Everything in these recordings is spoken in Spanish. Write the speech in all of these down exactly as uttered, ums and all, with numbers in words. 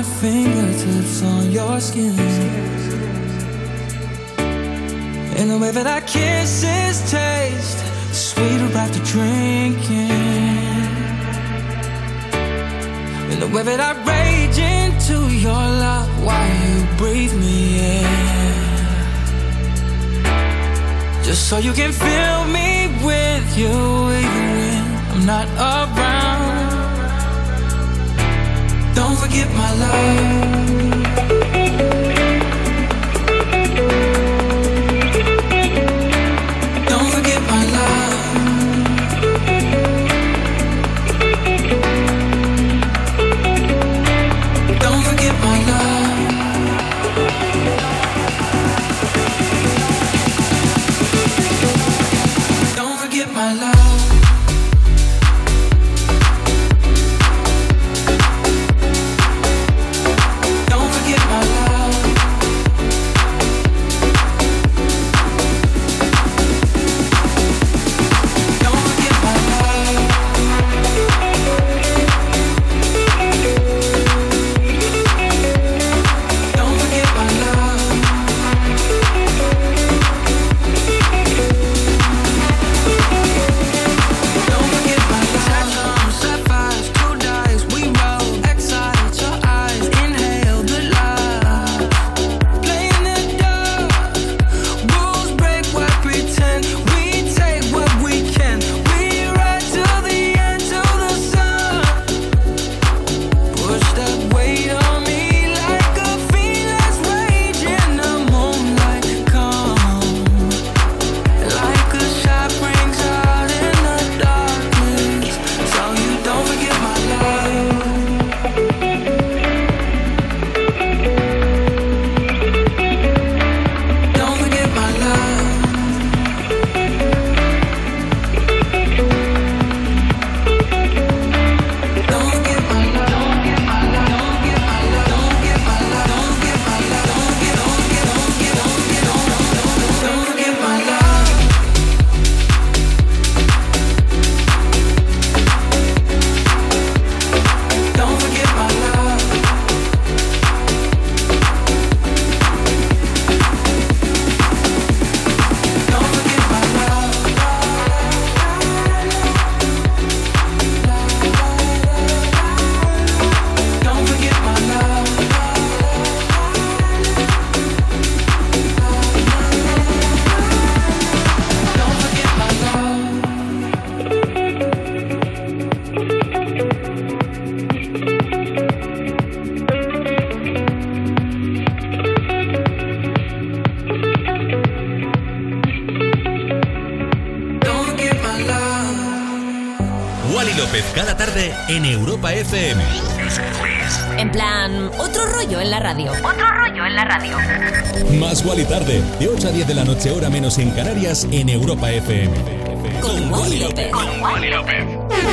fingertips on your skin. And the way that our kisses taste sweeter after drinking. And the way that I rage into your love while you breathe me in. Just so you can fill me with you even when I'm not around. Don't forget my love. Don't forget my love. Don't forget my love. Don't forget my love. Cada tarde en Europa F M. En plan, otro rollo en la radio. Otro rollo en la radio. Más Wally tarde, de ocho a diez de la noche, hora menos en Canarias, en Europa F M. Con Wally López. Con Wally López.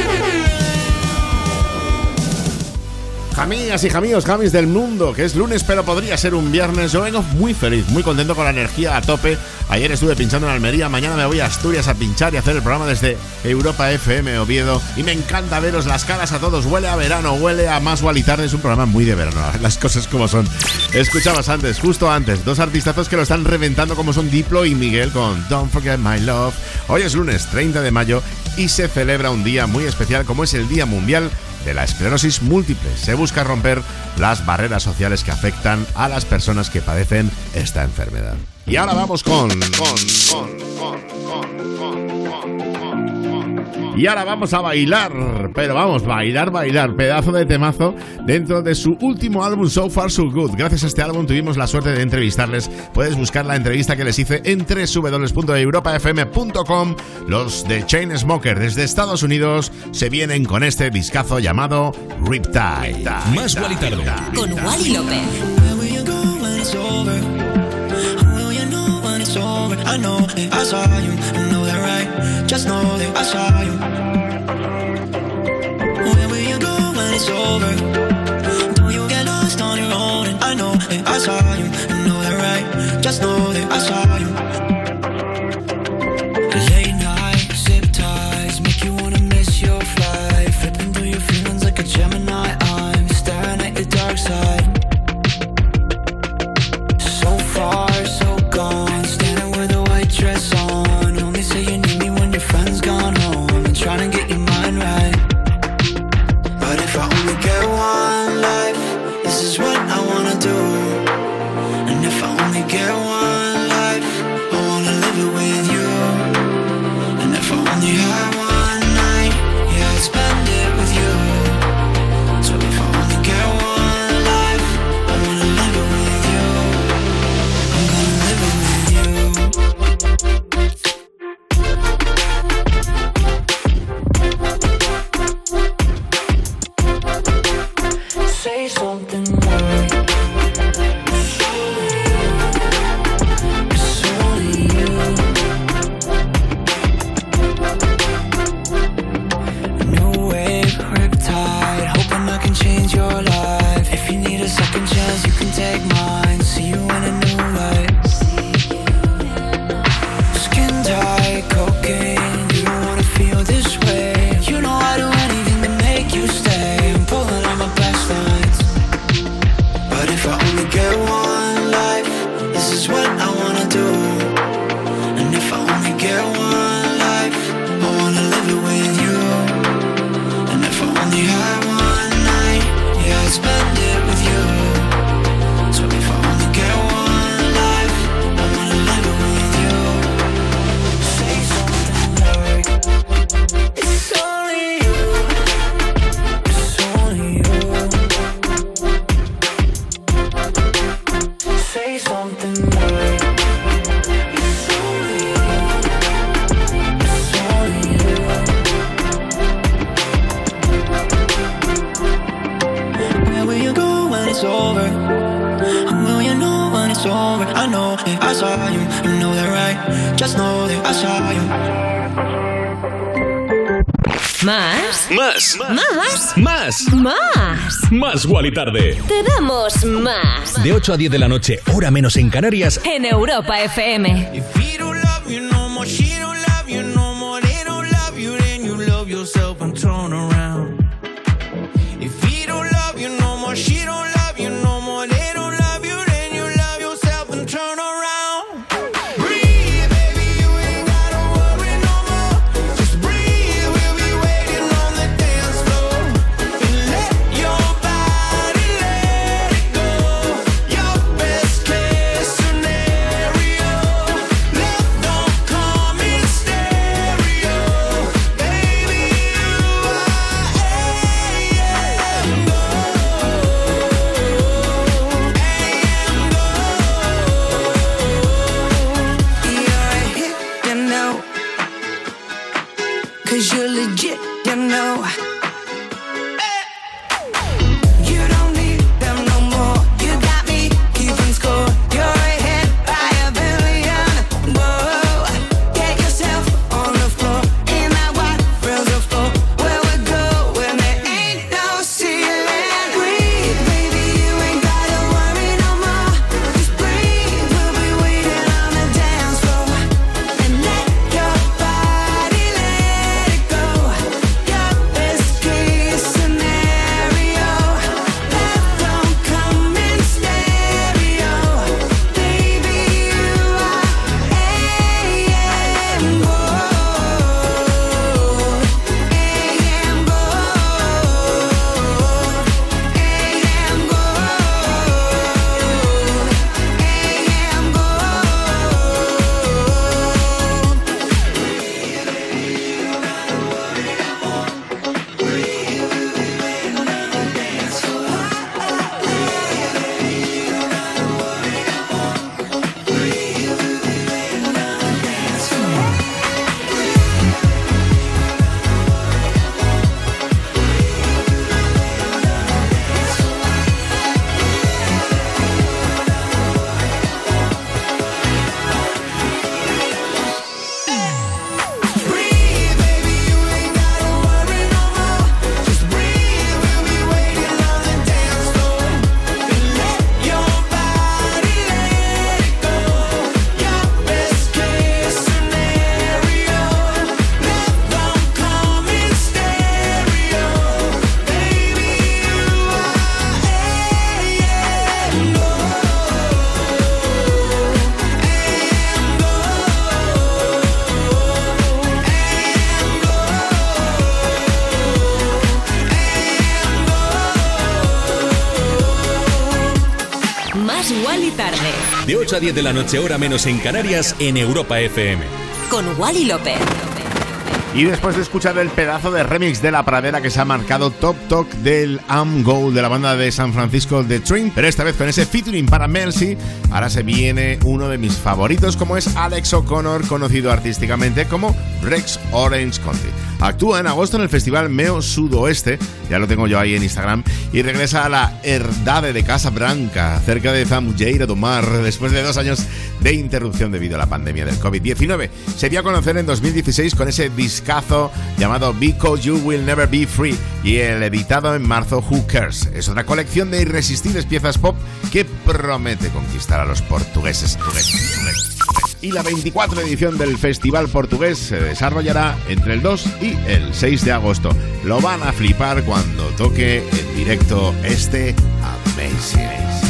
Jamías y jamíos, jamis del mundo, que es lunes pero podría ser un viernes. Yo vengo muy feliz, muy contento, con la energía a tope. Ayer estuve pinchando en Almería, mañana me voy a Asturias a pinchar y hacer el programa desde Europa F M Oviedo. Y me encanta veros las caras a todos, huele a verano, huele a Más Wally Tarde. Es un programa muy de verano, las cosas como son. Escuchabas antes, justo antes, dos artistazos que lo están reventando como son Diplo y Miguel con Don't Forget My Love. Hoy es lunes treinta de mayo y se celebra un día muy especial como es el Día Mundial de la Esclerosis Múltiple. Se busca romper las barreras sociales que afectan a las personas que padecen esta enfermedad. Y ahora vamos con... con, con, con, con, con, con, con. Y ahora vamos a bailar, pero vamos, bailar, bailar, pedazo de temazo dentro de su último álbum So Far So Good. Gracias a este álbum tuvimos la suerte de entrevistarles. Puedes buscar la entrevista que les hice en doble u doble u doble u punto europa f m punto com. Los de Chainsmokers desde Estados Unidos se vienen con este discazo llamado Riptide. Más Wally Tarde con Wally López. I know that I saw you, I know that right. Just know that I saw you. Where will you go when it's over? Don't you get lost on your own? And I know that I saw you, I know that right. Just know that I saw you. Late night, zip ties, make you wanna miss your flight. Flipping through your feelings like a Gemini. I'm staring at your dark side. if I only get one life, this is what I wanna do. And if I only get one life, I wanna live it with you. And if I only had one night, yeah, I'd spend it with you. So if I only get one life, I wanna live it with you. I'm gonna live it with you. Say something more. It's only you. New wave, riptide, hoping I can change your life. If you need a second chance, you can take mine. See you in a new light. Skin tight, cocaine, you don't wanna feel this way. You know I'd do anything to make you stay. I'm pulling on my best lines. But if I only get one life, this is what I wanna do. And if I only get one life, I wanna live it with you. And if I only had one night, yeah, I'd spend it with you. So if I only get one life, I wanna live it with you. Say something like, it's only you. It's only you. Say something like, it's only you. It's only you. Where will you go when it's over? And will you know when it's over? I know that I saw you, you know that, right? Just know that I saw you. ¿Más? Más, ¿Más? más, ¿Más? más Wally Tarde. Te damos más. De ocho a diez de la noche, hora menos en Canarias. En Europa F M. If he don't love you no more, she don't love you no more, they don't love you, then you love yourself and turn around. If he don't love you no more, she don't love you no more, they don't love you, then you love yourself and turn around. Breathe, baby, you ain't gotta worry no more. Just breathe, we'll be waiting on the dance floor. And let your body let it go. Your best case scenario. Love don't come in stereo. Baby, you are Más Wally tarde. De ocho a diez de la noche, hora menos en Canarias, en Europa F M. Con Wally López. Y después de escuchar el pedazo de remix de La Pradera que se ha marcado Top Talk del Am Gold de la banda de San Francisco The Train, pero esta vez con ese featuring para Mel C, ahora se viene uno de mis favoritos, como es Alex O'Connor, conocido artísticamente como Rex Orange County. Actúa en agosto en el festival Meo Sudoeste, ya lo tengo yo ahí en Instagram, y regresa a la Herdade de Casa Branca, cerca de Zambujeira do Mar, después de dos años de interrupción debido a la pandemia del covid diecinueve. Se dio a conocer en dos mil dieciséis con ese discazo llamado Because You Will Never Be Free y el editado en marzo Who Cares. Es otra colección de irresistibles piezas pop que promete conquistar a los portugueses. Y la veinticuarta edición del Festival Portugués se desarrollará entre el dos y el seis de agosto. Lo van a flipar cuando toque en directo este Amazing.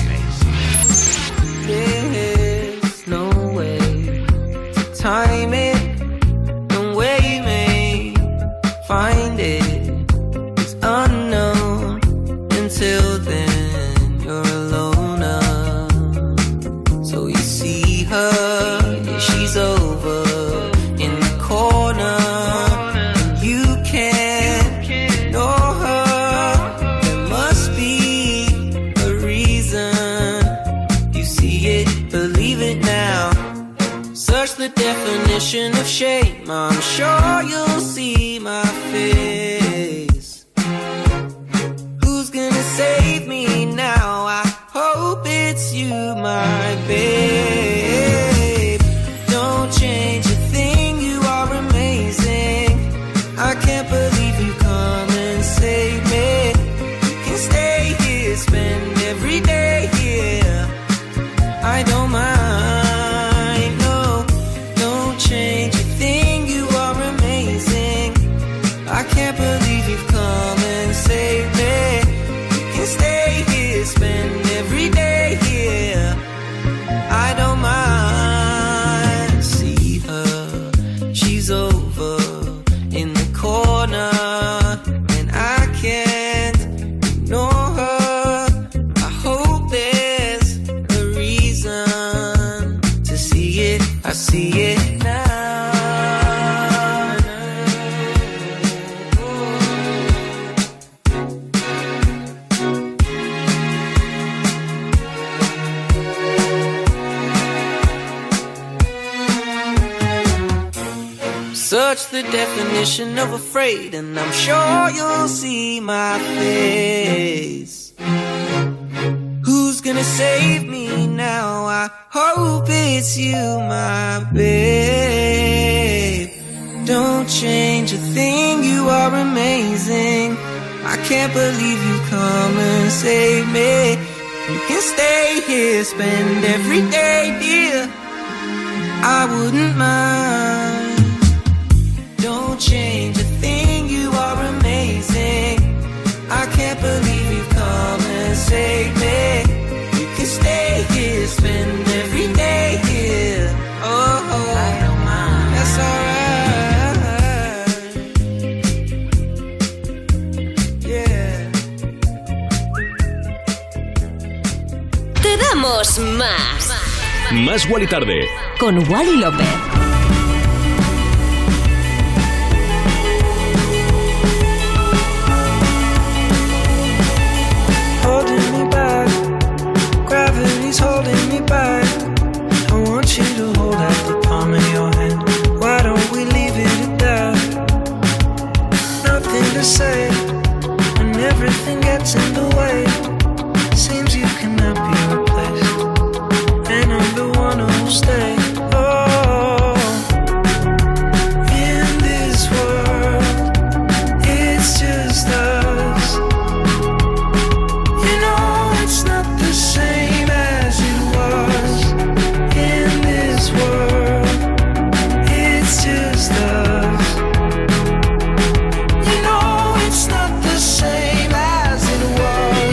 There's no way to time it, no way you may find it. It's unknown until then you're alone now. So you see her, she's over in the corner, and you can't know her. There must be a reason. You see it, believe it now. Search the definition of shame, I'm sure you'll see my face. Who's gonna save me now? I hope it's you, my babe. Don't change a thing, you are amazing. I can't believe you come and save me. You can stay here, spend every day here. I don't mind, no. Don't change a thing, you are amazing. I can't believe you've come and saved me. You can stay here, spend every day here. I don't mind. See her, she's over in the corner, and I can't ignore her. I hope there's a reason to see it. I see it now. Search the definition of afraid, and I'm sure you'll see my face. Who's gonna save me now? I hope it's you, my babe. Don't change a thing, you are amazing. I can't believe you come and save me. You can stay here, spend every day, dear. I wouldn't mind. Don't change a thing, you are amazing. I can't believe you've come and saved me. You can stay here, spend every day here. Oh, oh. I don't mind. That's alright. Yeah. Te damos más. Más Wally tarde. Con Wally López. Holding me back, gravity's holding me back. I want you to hold out the palm of your hand. Why don't we leave it at that? Nothing to say when everything gets in the way. Seems you cannot be replaced, and I'm the one who'll stay. Oh, in this world, it's just us. You know it's not the same as it was. In this world, it's just us. You know it's not the same as it was.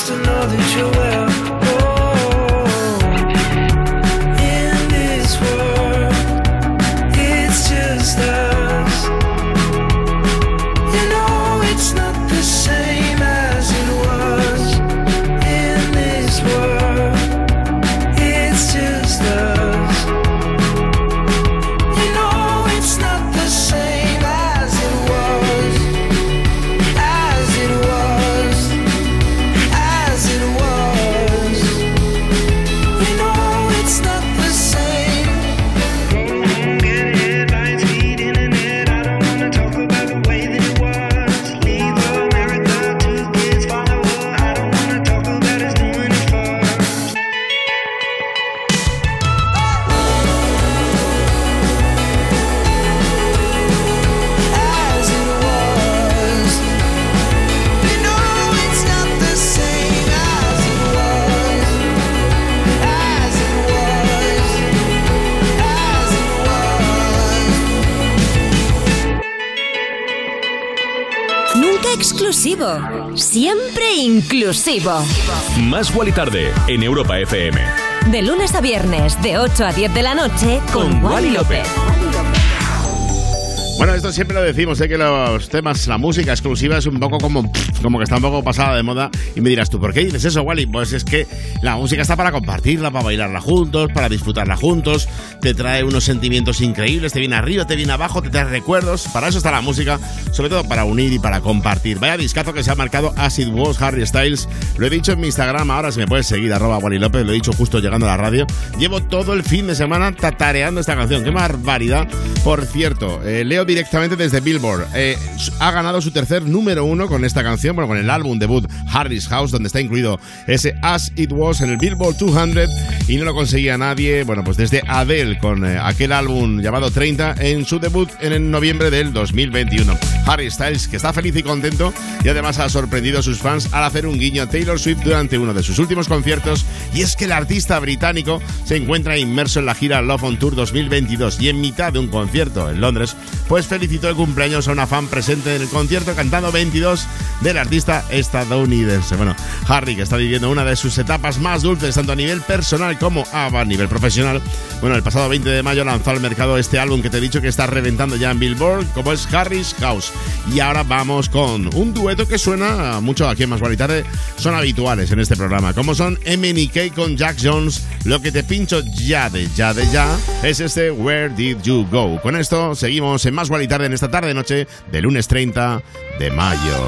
just to know that you're well. Oh, in this world, it's just us. You know it's not the same as it was. In this world, it's just us. You know it's not the same as it was. As it was. As it was. You know it's not the same. Get headlines, feed internet. I don't wanna talk about the way that it was. Leave America, two kids follow her. I don't wanna talk about us doing it first. As it was. You know it's not the same as it was. As it was. As it was. Nunca exclusivo, siempre inclusivo. Más Guali Tarde en Europa F M. De lunes a viernes, de ocho a diez de la noche, con, Con Wally Wally López. Bueno, esto siempre lo decimos, ¿eh? Que los temas, la música exclusiva es un poco como, como que está un poco pasada de moda. Y me dirás tú, ¿por qué dices eso, Wally? Pues es que la música está para compartirla, para bailarla juntos, para disfrutarla juntos. Te trae unos sentimientos increíbles, te viene arriba, te viene abajo, te trae recuerdos. Para eso está la música, sobre todo para unir y para compartir. Vaya discazo que se ha marcado Acid Was, Harry Styles. Lo he dicho en mi Instagram, ahora si me puedes seguir, arroba Wally López, lo he dicho justo llegando a la radio. Llevo todo el fin de semana tatareando esta canción. ¡Qué barbaridad! Por cierto, eh, leo directamente desde Billboard. Eh, ha ganado su tercer número uno con esta canción, bueno, con el álbum debut Harry's House, donde está incluido ese As It Was en el Billboard doscientos, y no lo conseguía nadie, bueno, pues desde Adele con eh, aquel álbum llamado treinta en su debut en el noviembre del dos mil veintiuno. Harry Styles, que está feliz y contento, y además ha sorprendido a sus fans al hacer un guiño a Taylor Swift durante uno de sus últimos conciertos, y es que el artista británico se encuentra inmerso en la gira Love on Tour dos mil veintidós, y en mitad de un concierto en Londres, pues felicitó de cumpleaños a una fan presente en el concierto cantando veintidós del artista estadounidense. Bueno, Harry, que está viviendo una de sus etapas más dulces tanto a nivel personal como a nivel profesional. Bueno, el pasado veinte de mayo lanzó al mercado este álbum que te he dicho que está reventando ya en Billboard, como es Harry's House. Y ahora vamos con un dueto que suena mucho aquí en Más Guali Tarde, son habituales en este programa, como son M N K con Jack Jones. Lo que te pincho ya de ya de ya es este Where Did You Go. Con esto seguimos en Más Guali Tarde en esta tarde noche de lunes treinta de mayo.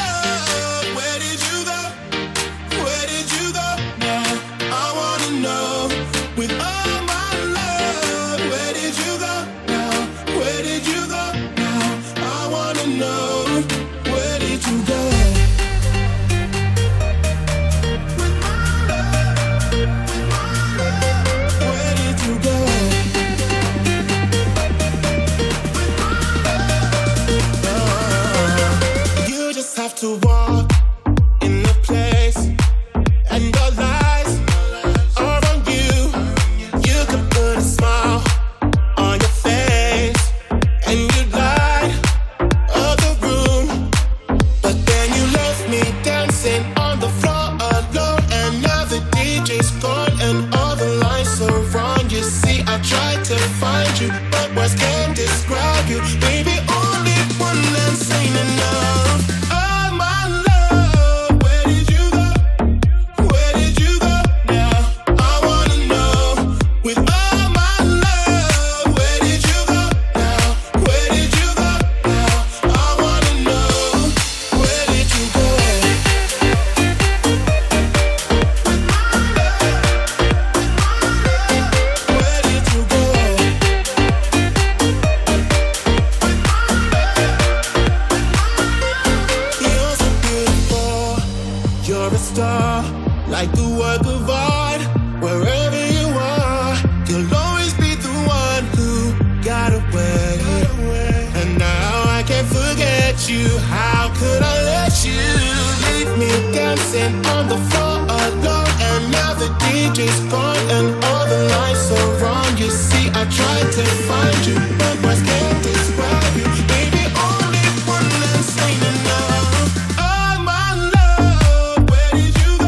To walk in the place, and the lights are on you. You could put a smile on your face, and you'd light up the room. But then you left me dancing on the floor alone, and now the D J's gone, and all the lights are wrong. You see, I tried to find you, but words can't describe you. Baby, only one last ain't enough. Like the work of art, wherever you are, you'll always be the one who got away. And now I can't forget you. How could I let you leave me dancing on the floor alone? And now the D J's gone and all the lights are wrong. You see, I tried to find you, but words can't describe you. Baby, only one last ain't enough. Oh my love, where did you go?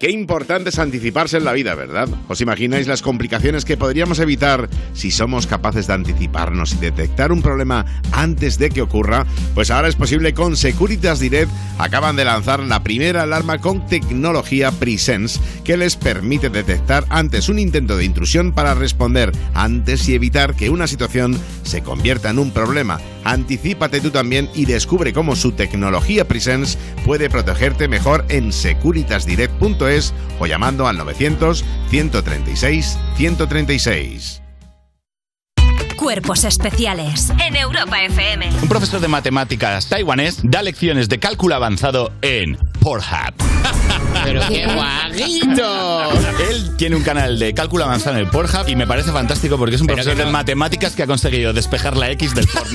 Qué importante es anticiparse en la vida, ¿verdad? ¿Os imagináis las complicaciones que podríamos evitar si somos capaces de anticiparnos y detectar un problema antes de que ocurra? Pues ahora es posible con Securitas Direct. Acaban de lanzar la primera alarma con tecnología Presence que les permite detectar antes un intento de intrusión para responder antes y evitar que una situación se convierta en un problema. Anticípate tú también y descubre cómo su tecnología Presence puede protegerte mejor en securitas direct punto es o llamando al novecientos, ciento treinta y seis, ciento treinta y seis. Cuerpos especiales en Europa F M. Un profesor de matemáticas taiwanés da lecciones de cálculo avanzado en Pornhub. ¡Pero qué guaguito! Él tiene un canal de cálculo avanzado en el Pornhub y me parece fantástico porque es un profesor no... de matemáticas que ha conseguido despejar la X del porno.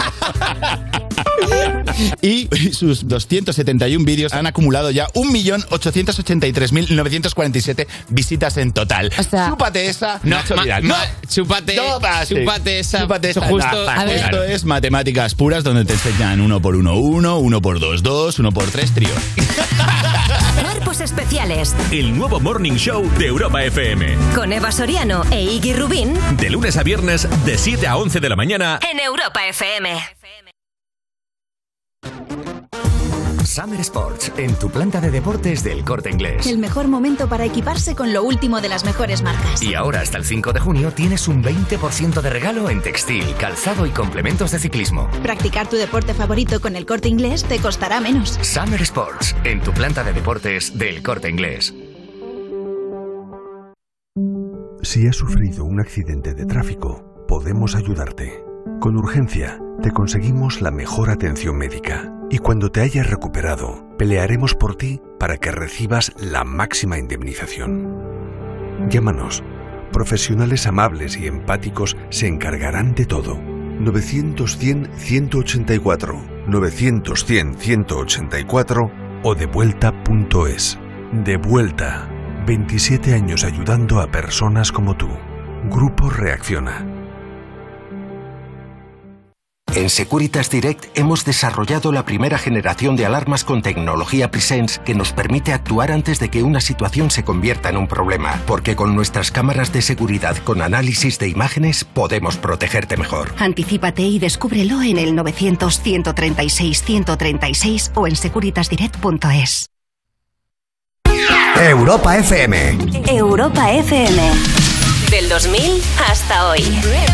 Y sus doscientos setenta y uno vídeos han acumulado ya un millón ochocientos ochenta y tres mil novecientos cuarenta y siete visitas en total. O sea, chúpate esa, no, Nacho ma, Vidal. Ma, No, chúpate, chúpate esa. Chúpate esa. Justo, No, justo. Esto es matemáticas puras donde te enseñan uno por uno, uno, uno por dos, dos, uno por tres, trío. Cuerpos especiales. El nuevo Morning Show de Europa F M. Con Eva Soriano e Iggy Rubín. De lunes a viernes, de siete a once de la mañana. En Europa F M. Summer Sports, en tu planta de deportes del Corte Inglés. El mejor momento para equiparse con lo último de las mejores marcas. Y ahora hasta el cinco de junio tienes un veinte por ciento de regalo en textil, calzado y complementos de ciclismo. Practicar tu deporte favorito con el Corte Inglés te costará menos. Summer Sports, en tu planta de deportes del Corte Inglés. Si has sufrido un accidente de tráfico, podemos ayudarte. Con urgencia, te conseguimos la mejor atención médica. Y cuando te hayas recuperado, pelearemos por ti para que recibas la máxima indemnización. Llámanos. Profesionales amables y empáticos se encargarán de todo. novecientos cien, ciento ochenta y cuatro, novecientos cien, ciento ochenta y cuatro o devuelta punto es. Devuelta. veintisiete años ayudando a personas como tú. Grupo Reacciona. En Securitas Direct hemos desarrollado la primera generación de alarmas con tecnología Presence que nos permite actuar antes de que una situación se convierta en un problema, porque con nuestras cámaras de seguridad con análisis de imágenes podemos protegerte mejor. Anticípate y descúbrelo en el novecientos, ciento treinta y seis, ciento treinta y seis o en securitas direct punto es. Europa F M. Europa F M. Del dos mil hasta hoy.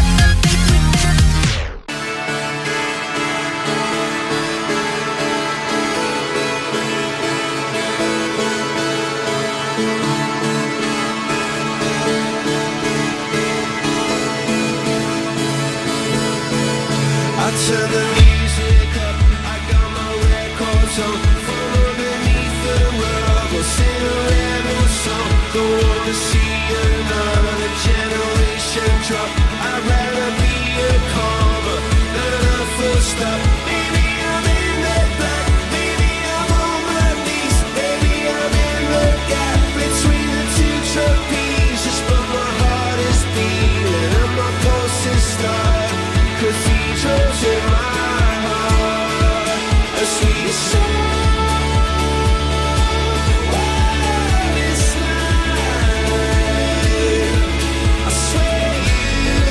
Turn the music up, I got my records on. From underneath the rug, we'll sing a rebel song. Don't wanna see another generation drop. I'd rather be a comma than a full stop. Maybe I'm in the black, maybe I'm on my knees. Maybe I'm in the gap between the two trapezes. But my heart is beating and my pulse is starting. Cathedrals in my heart, a sweet song. This night, I swear you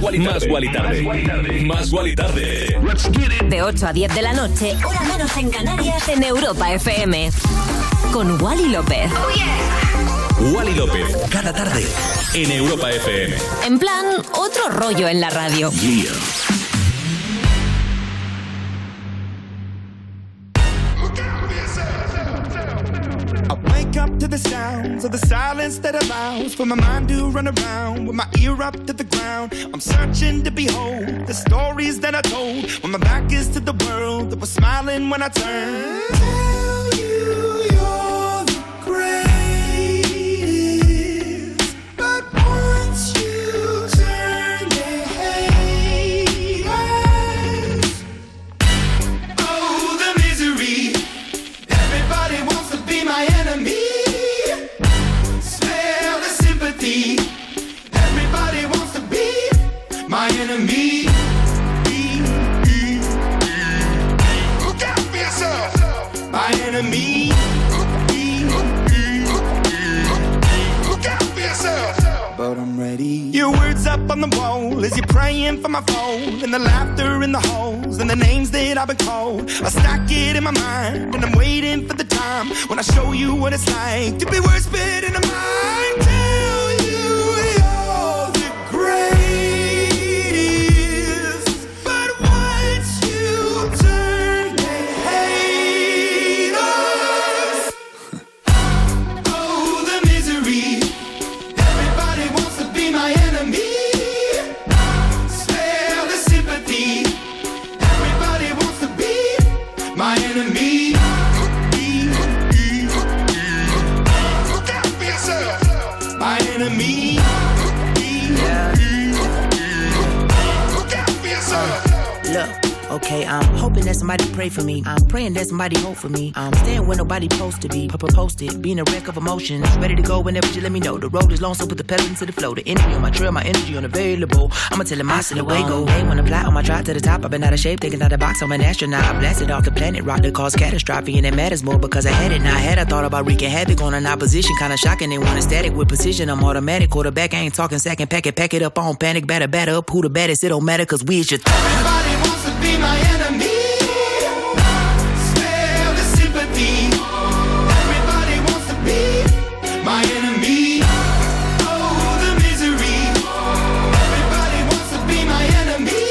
Más Guali Tarde. Más Guali Tarde. De ocho a diez de la noche, hora menos en Canarias, en Europa F M. Con Wally López. Oh, yeah. Wally López, cada tarde, en Europa F M. En plan, otro rollo en la radio. Yeah. Up to the sounds of the silence that allows for my mind to run around with my ear up to the ground. I'm searching to behold the stories that I told when my back is to the world that was smiling when I turned. Tell you you're the greatest, but once you turn, they hate us. Oh, the misery. Everybody wants to be my enemy. Everybody wants to be my enemy. Look out for yourself. My enemy. Look out for yourself. But I'm ready. Your words up on the wall as you're praying for my phone, and the laughter in the halls and the names that I've been called. I stack it in my mind and I'm waiting for the time when I show you what it's like to be worse fit in a mind. Okay, I'm hoping that somebody pray for me. I'm praying that somebody hope for me. I'm staying where nobody supposed to be. Posted, being a wreck of emotions. Ready to go whenever you let me know. The road is long, so put the pedal into the flow. The energy on my trail, my energy unavailable. I'ma tell him I still away go. Hey, when I fly on my drive to the top, I've been out of shape, thinking out of the box. I'm an astronaut. I blasted off the planet, rock that caused catastrophe, and it matters more because I had it. Now I had I thought about wreaking havoc on an opposition, kinda shocking. They want a static with precision. I'm automatic, quarterback. I ain't talking second, pack it, pack it up on panic, batter, batter up. Who the baddest? It don't matter, cause we is your th- Everybody wants to be my enemy. My enemy, oh the misery. Everybody wants to be my enemy.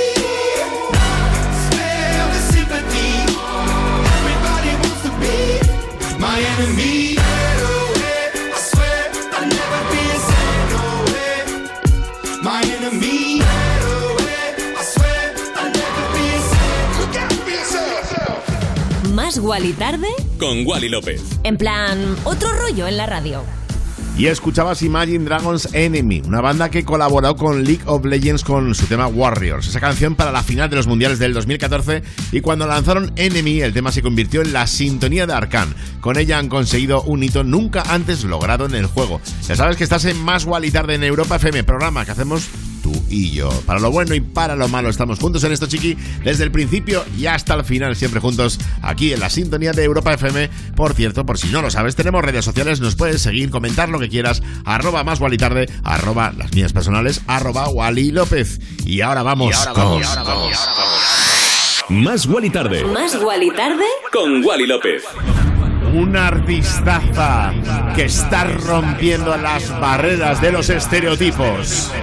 Spare the sympathy. Everybody wants to be my enemy. I swear I'll never be a sad no way. My enemy. I swear I'll never be a sad. Look out for yourself. Más Guali Tarde con Wally López. En plan, otro rollo en la radio. Y escuchabas Imagine Dragons Enemy, una banda que colaboró con League of Legends con su tema Warriors, esa canción para la final de los mundiales del dos mil catorce, y cuando lanzaron Enemy el tema se convirtió en la sintonía de Arcane. Con ella han conseguido un hito nunca antes logrado en el juego. Ya sabes que estás en Más Guali Tarde en Europa F M, programa que hacemos tú y yo. Para lo bueno y para lo malo estamos juntos en esto, chiqui, desde el principio y hasta el final, siempre juntos aquí en la sintonía de Europa F M. Por cierto, por si no lo sabes, tenemos redes sociales, nos puedes seguir, comentar lo que quieras, arroba Más Guali Tarde, arroba las mías personales, arroba Wally López. Y ahora vamos, y ahora vamos, con... y ahora vamos, y ahora vamos. Más Guali Tarde. Más Guali Tarde con Wally López. Una artistaza que está rompiendo las barreras de los estereotipos.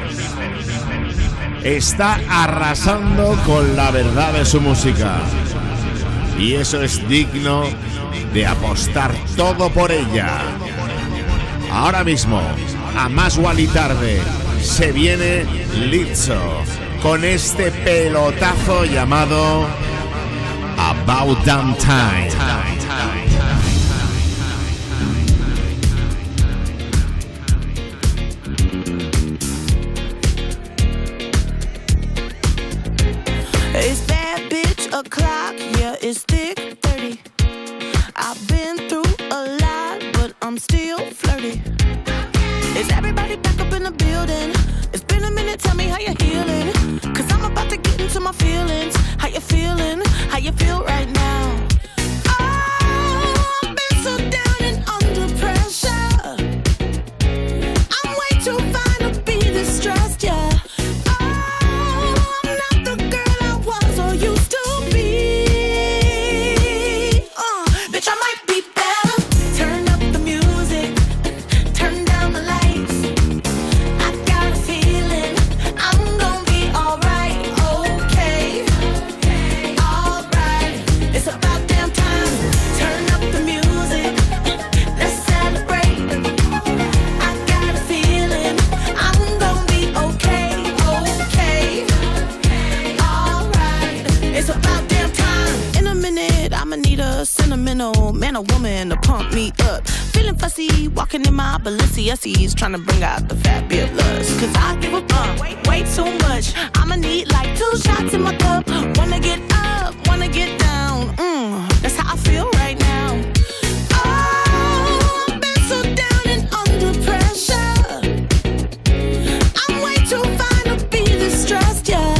Está arrasando con la verdad de su música. Y eso es digno de apostar todo por ella. Ahora mismo, a Más Guali Tarde, se viene Lizzo con este pelotazo llamado About Damn Time. It's that bitch o'clock, yeah, it's thick thirty. I've been through a lot, but I'm still flirty. Is everybody back up in the building? It's been a minute, tell me how you're healing. Cause I'm about to get into my feelings. How you feeling? How you feel right now? Oh, I've been so down and under pressure. I'm way too fine to be distressed, yeah. Oh, me up. Feeling fussy, walking in my Balenciennes, trying to bring out the fat bit lust. Cause I give a fuck, way, way too much. I'ma need like two shots in my cup. Wanna get up, wanna get down. Mm, that's how I feel right now. Oh, I've been so down and under pressure. I'm way too fine to be this stressed, yeah.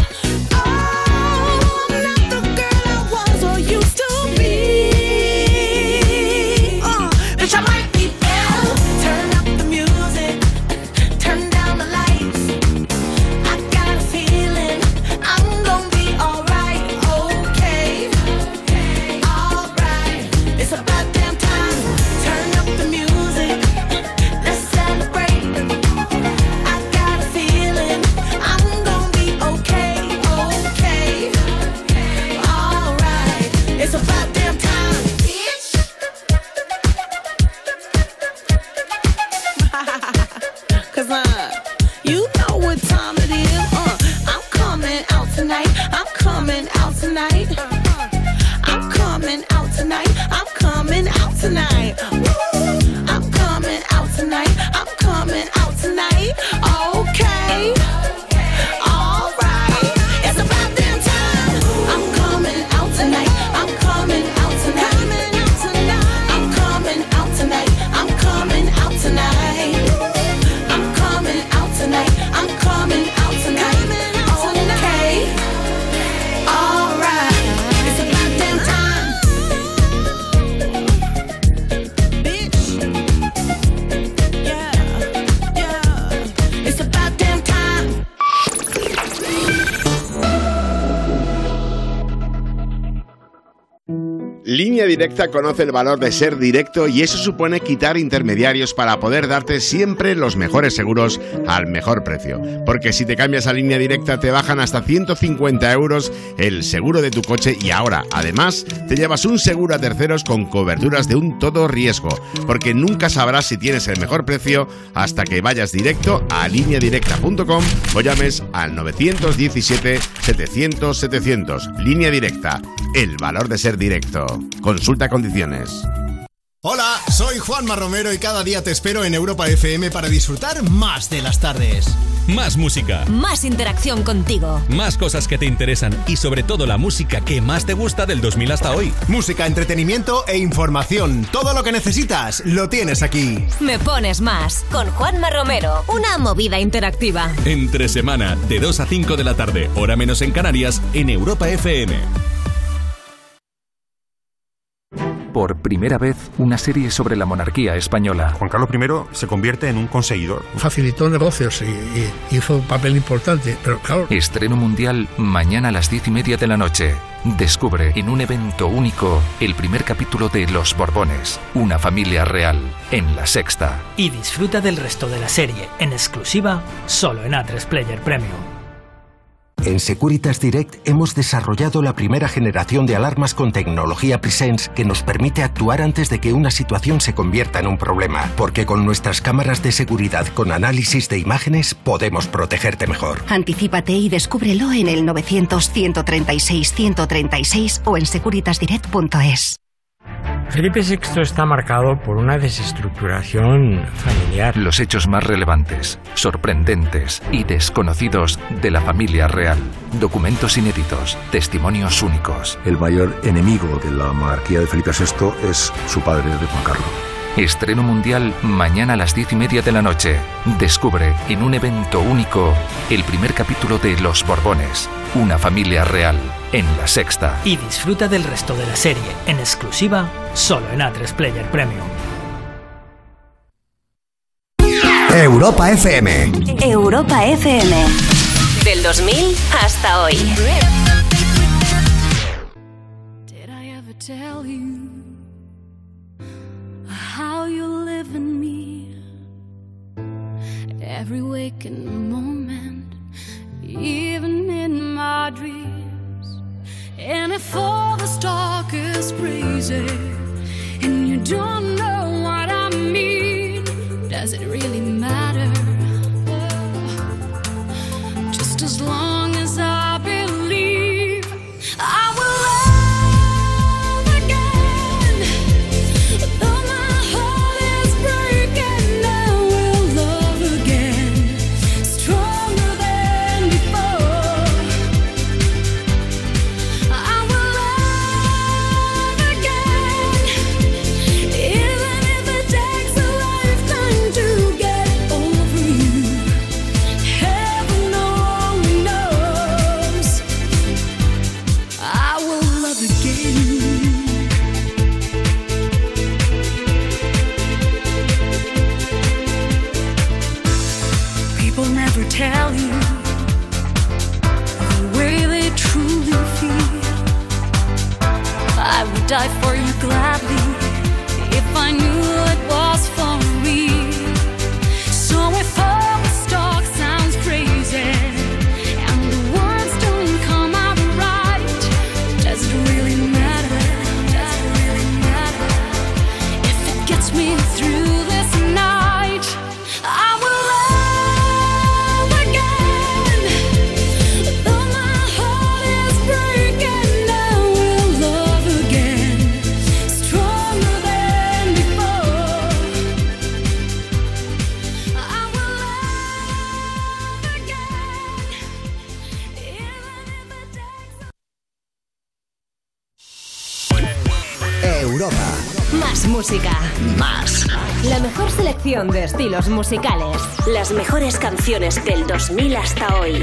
Línea Directa conoce el valor de ser directo y eso supone quitar intermediarios para poder darte siempre los mejores seguros al mejor precio. Porque si te cambias a Línea Directa te bajan hasta ciento cincuenta euros el seguro de tu coche y ahora, además, te llevas un seguro a terceros con coberturas de un todo riesgo. Porque nunca sabrás si tienes el mejor precio hasta que vayas directo a línea directa punto com o llames al nueve uno siete, setecientos, setecientos. Línea Directa, el valor de ser directo. Consulta condiciones. Hola, soy Juanma Romero y cada día te espero en Europa F M para disfrutar más de las tardes. Más música. Más interacción contigo. Más cosas que te interesan y sobre todo la música que más te gusta del dos mil hasta hoy. Música, entretenimiento e información. Todo lo que necesitas lo tienes aquí. Me pones más con Juanma Romero. Una movida interactiva. Entre semana, de dos a cinco de la tarde, hora menos en Canarias, en Europa F M. Por primera vez, una serie sobre la monarquía española. Juan Carlos primero se convierte en un conseguidor. Facilitó negocios y, y hizo un papel importante, pero claro... Estreno mundial mañana a las diez y media de la noche. Descubre en un evento único el primer capítulo de Los Borbones, una familia real, en La Sexta. Y disfruta del resto de la serie, en exclusiva, solo en A tres Player Premium. En Securitas Direct hemos desarrollado la primera generación de alarmas con tecnología Presence que nos permite actuar antes de que una situación se convierta en un problema, porque con nuestras cámaras de seguridad con análisis de imágenes podemos protegerte mejor. Anticípate y descúbrelo en el novecientos, ciento treinta y seis, ciento treinta y seis o en securitas direct punto es. Felipe sexto está marcado por una desestructuración familiar. Los hechos más relevantes, sorprendentes y desconocidos de la familia real. Documentos inéditos, testimonios únicos. El mayor enemigo de la monarquía de Felipe sexto es su padre, de Juan Carlos. Estreno mundial mañana a las diez y media de la noche. Descubre en un evento único el primer capítulo de Los Borbones, una familia real, en La Sexta. Y disfruta del resto de la serie, en exclusiva, solo en A tres Player Premium. Europa F M. Europa F M. Del dos mil hasta hoy. Did I ever tell you how you live in me? Every waking moment, even in my dreams. And if all this talk is crazy and you don't know what I mean, does it really matter? Just as long as I believe I will love again, though my ever tell you the way they truly feel. I would die for you gladly if I knew it was for real. So if all the talk sounds crazy and the words don't come out right, does it really matter? Does it really matter? If it gets me through this night, I will love again. Though my heart is breaking, I will love again, stronger than before. I will love again, even if it takes Europa. Más música. Más. La mejor selección de estilos musicales. Las mejores canciones del dos mil hasta hoy.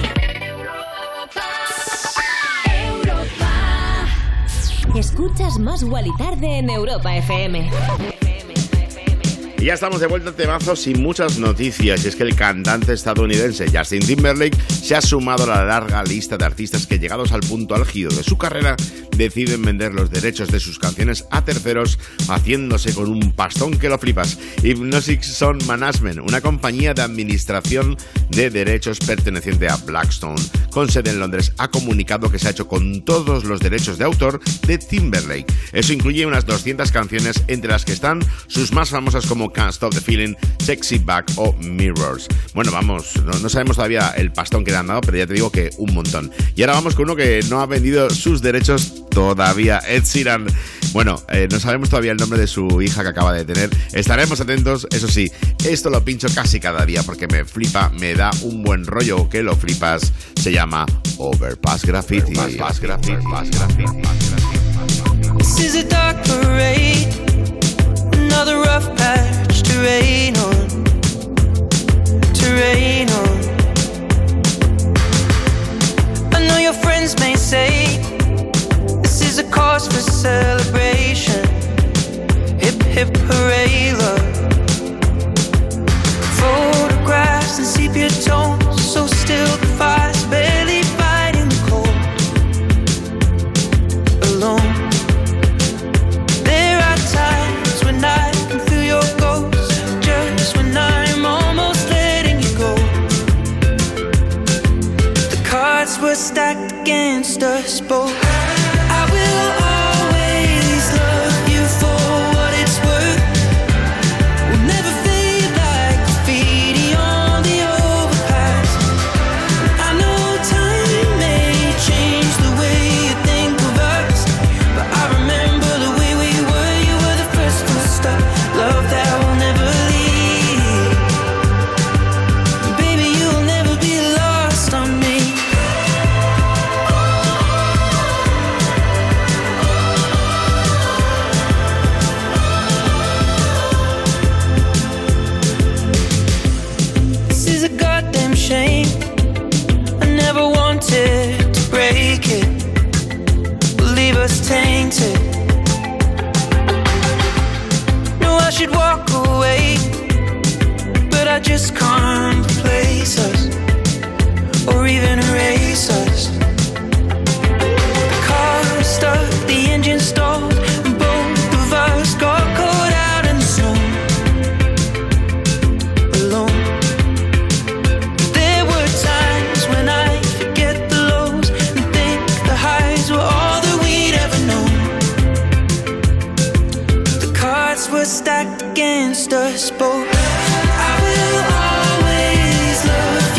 Escuchas Más Guali Tarde en Europa F M. Y ya estamos de vuelta al temazo sin muchas noticias. Y es que el cantante estadounidense Justin Timberlake se ha sumado a la larga lista de artistas que, llegados al punto álgido de su carrera, deciden vender los derechos de sus canciones a terceros, haciéndose con un pastón que lo flipas. Hypnotic Sound Management, una compañía de administración de derechos perteneciente a Blackstone, con sede en Londres, ha comunicado que se ha hecho con todos los derechos de autor de Timberlake. Eso incluye unas doscientas canciones, entre las que están sus más famosas como Can't Stop the Feeling, Sexy Back o Mirrors. Bueno, vamos, no, no sabemos todavía el pastón que le han dado, pero ya te digo que un montón. Y ahora vamos con uno que no ha vendido sus derechos todavía, Ed Sheeran. Bueno, eh, no sabemos todavía el nombre de su hija que acaba de tener. Estaremos atentos, eso sí, esto lo pincho casi cada día porque me flipa, me da un buen rollo que lo flipas. Se llama Overpass Graffiti. Overpass Graffiti. Overpass Graffiti. This is a dark parade, another rough patch to rain on, to rain on. I know your friends may say this is a cause for celebration. Hip hip hooray, love. Photographs and sepia tones, so still the fire's barely fighting the cold. Alone. There are times when I can feel your ghost, just when I'm almost letting you go. The cards were stacked against us both. I will always love you for what it's worth. We'll never fade like graffiti on the overpass. I know time may change the way you think of us, but I remember the way we were. You were the first to stop. Love that will never leave. Baby, you'll never be lost on me. This is a goddamn shame. I never wanted to break it, leave us tainted. No, I should walk away, but I just can't replace us or even erase us. The car stuck, the engine stalled, and both of us got caught out in the snow. Alone. There were times when I forget the lows and think the highs were all that we'd ever known. The cards were stacked against us both. I will always love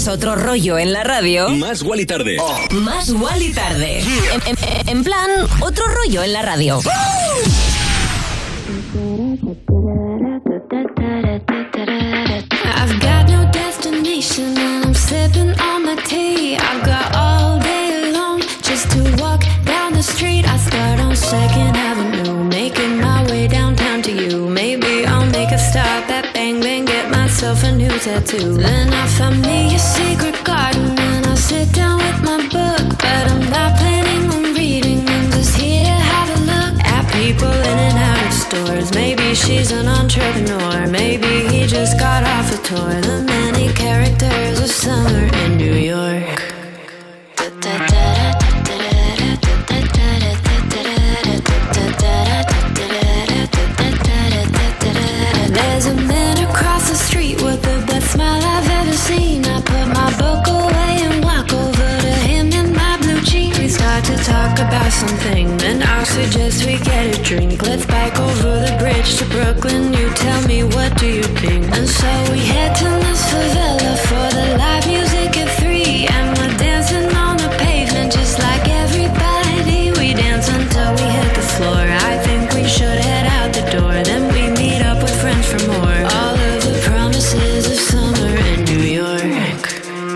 ¿Quieres otro rollo en la radio? Más Wally Tarde. Oh. Más Wally Tarde. En, en, en plan, otro rollo en la radio. I've got no destination and I'm sipping on my tea. I've got all day long just to walk down the street. I start on Second Avenue, making my way downtown to you. Maybe I'll make a stop at Bang Bang, get myself a new tattoo. Then I find me a secret garden and I sit down with my book. But I'm not planning on reading, I'm just here to have a look at people in and out of stores. Maybe she's an entrepreneur, maybe he just got off a tour. The many characters of summer in New York. There's a man across the street with the best smile I've ever seen. I put my book away and walk over to him in my blue jeans. We start to talk about something, then I'll suggest we get a drink. Let's bike over the bridge to Brooklyn. You tell me, what do you think? And so we head to this favela for the live music at three. And we're dancing on the pavement just like everybody. We dance until we hit the floor. I think we should head out the door. Then we meet up with friends for more. All of the promises of summer in New York.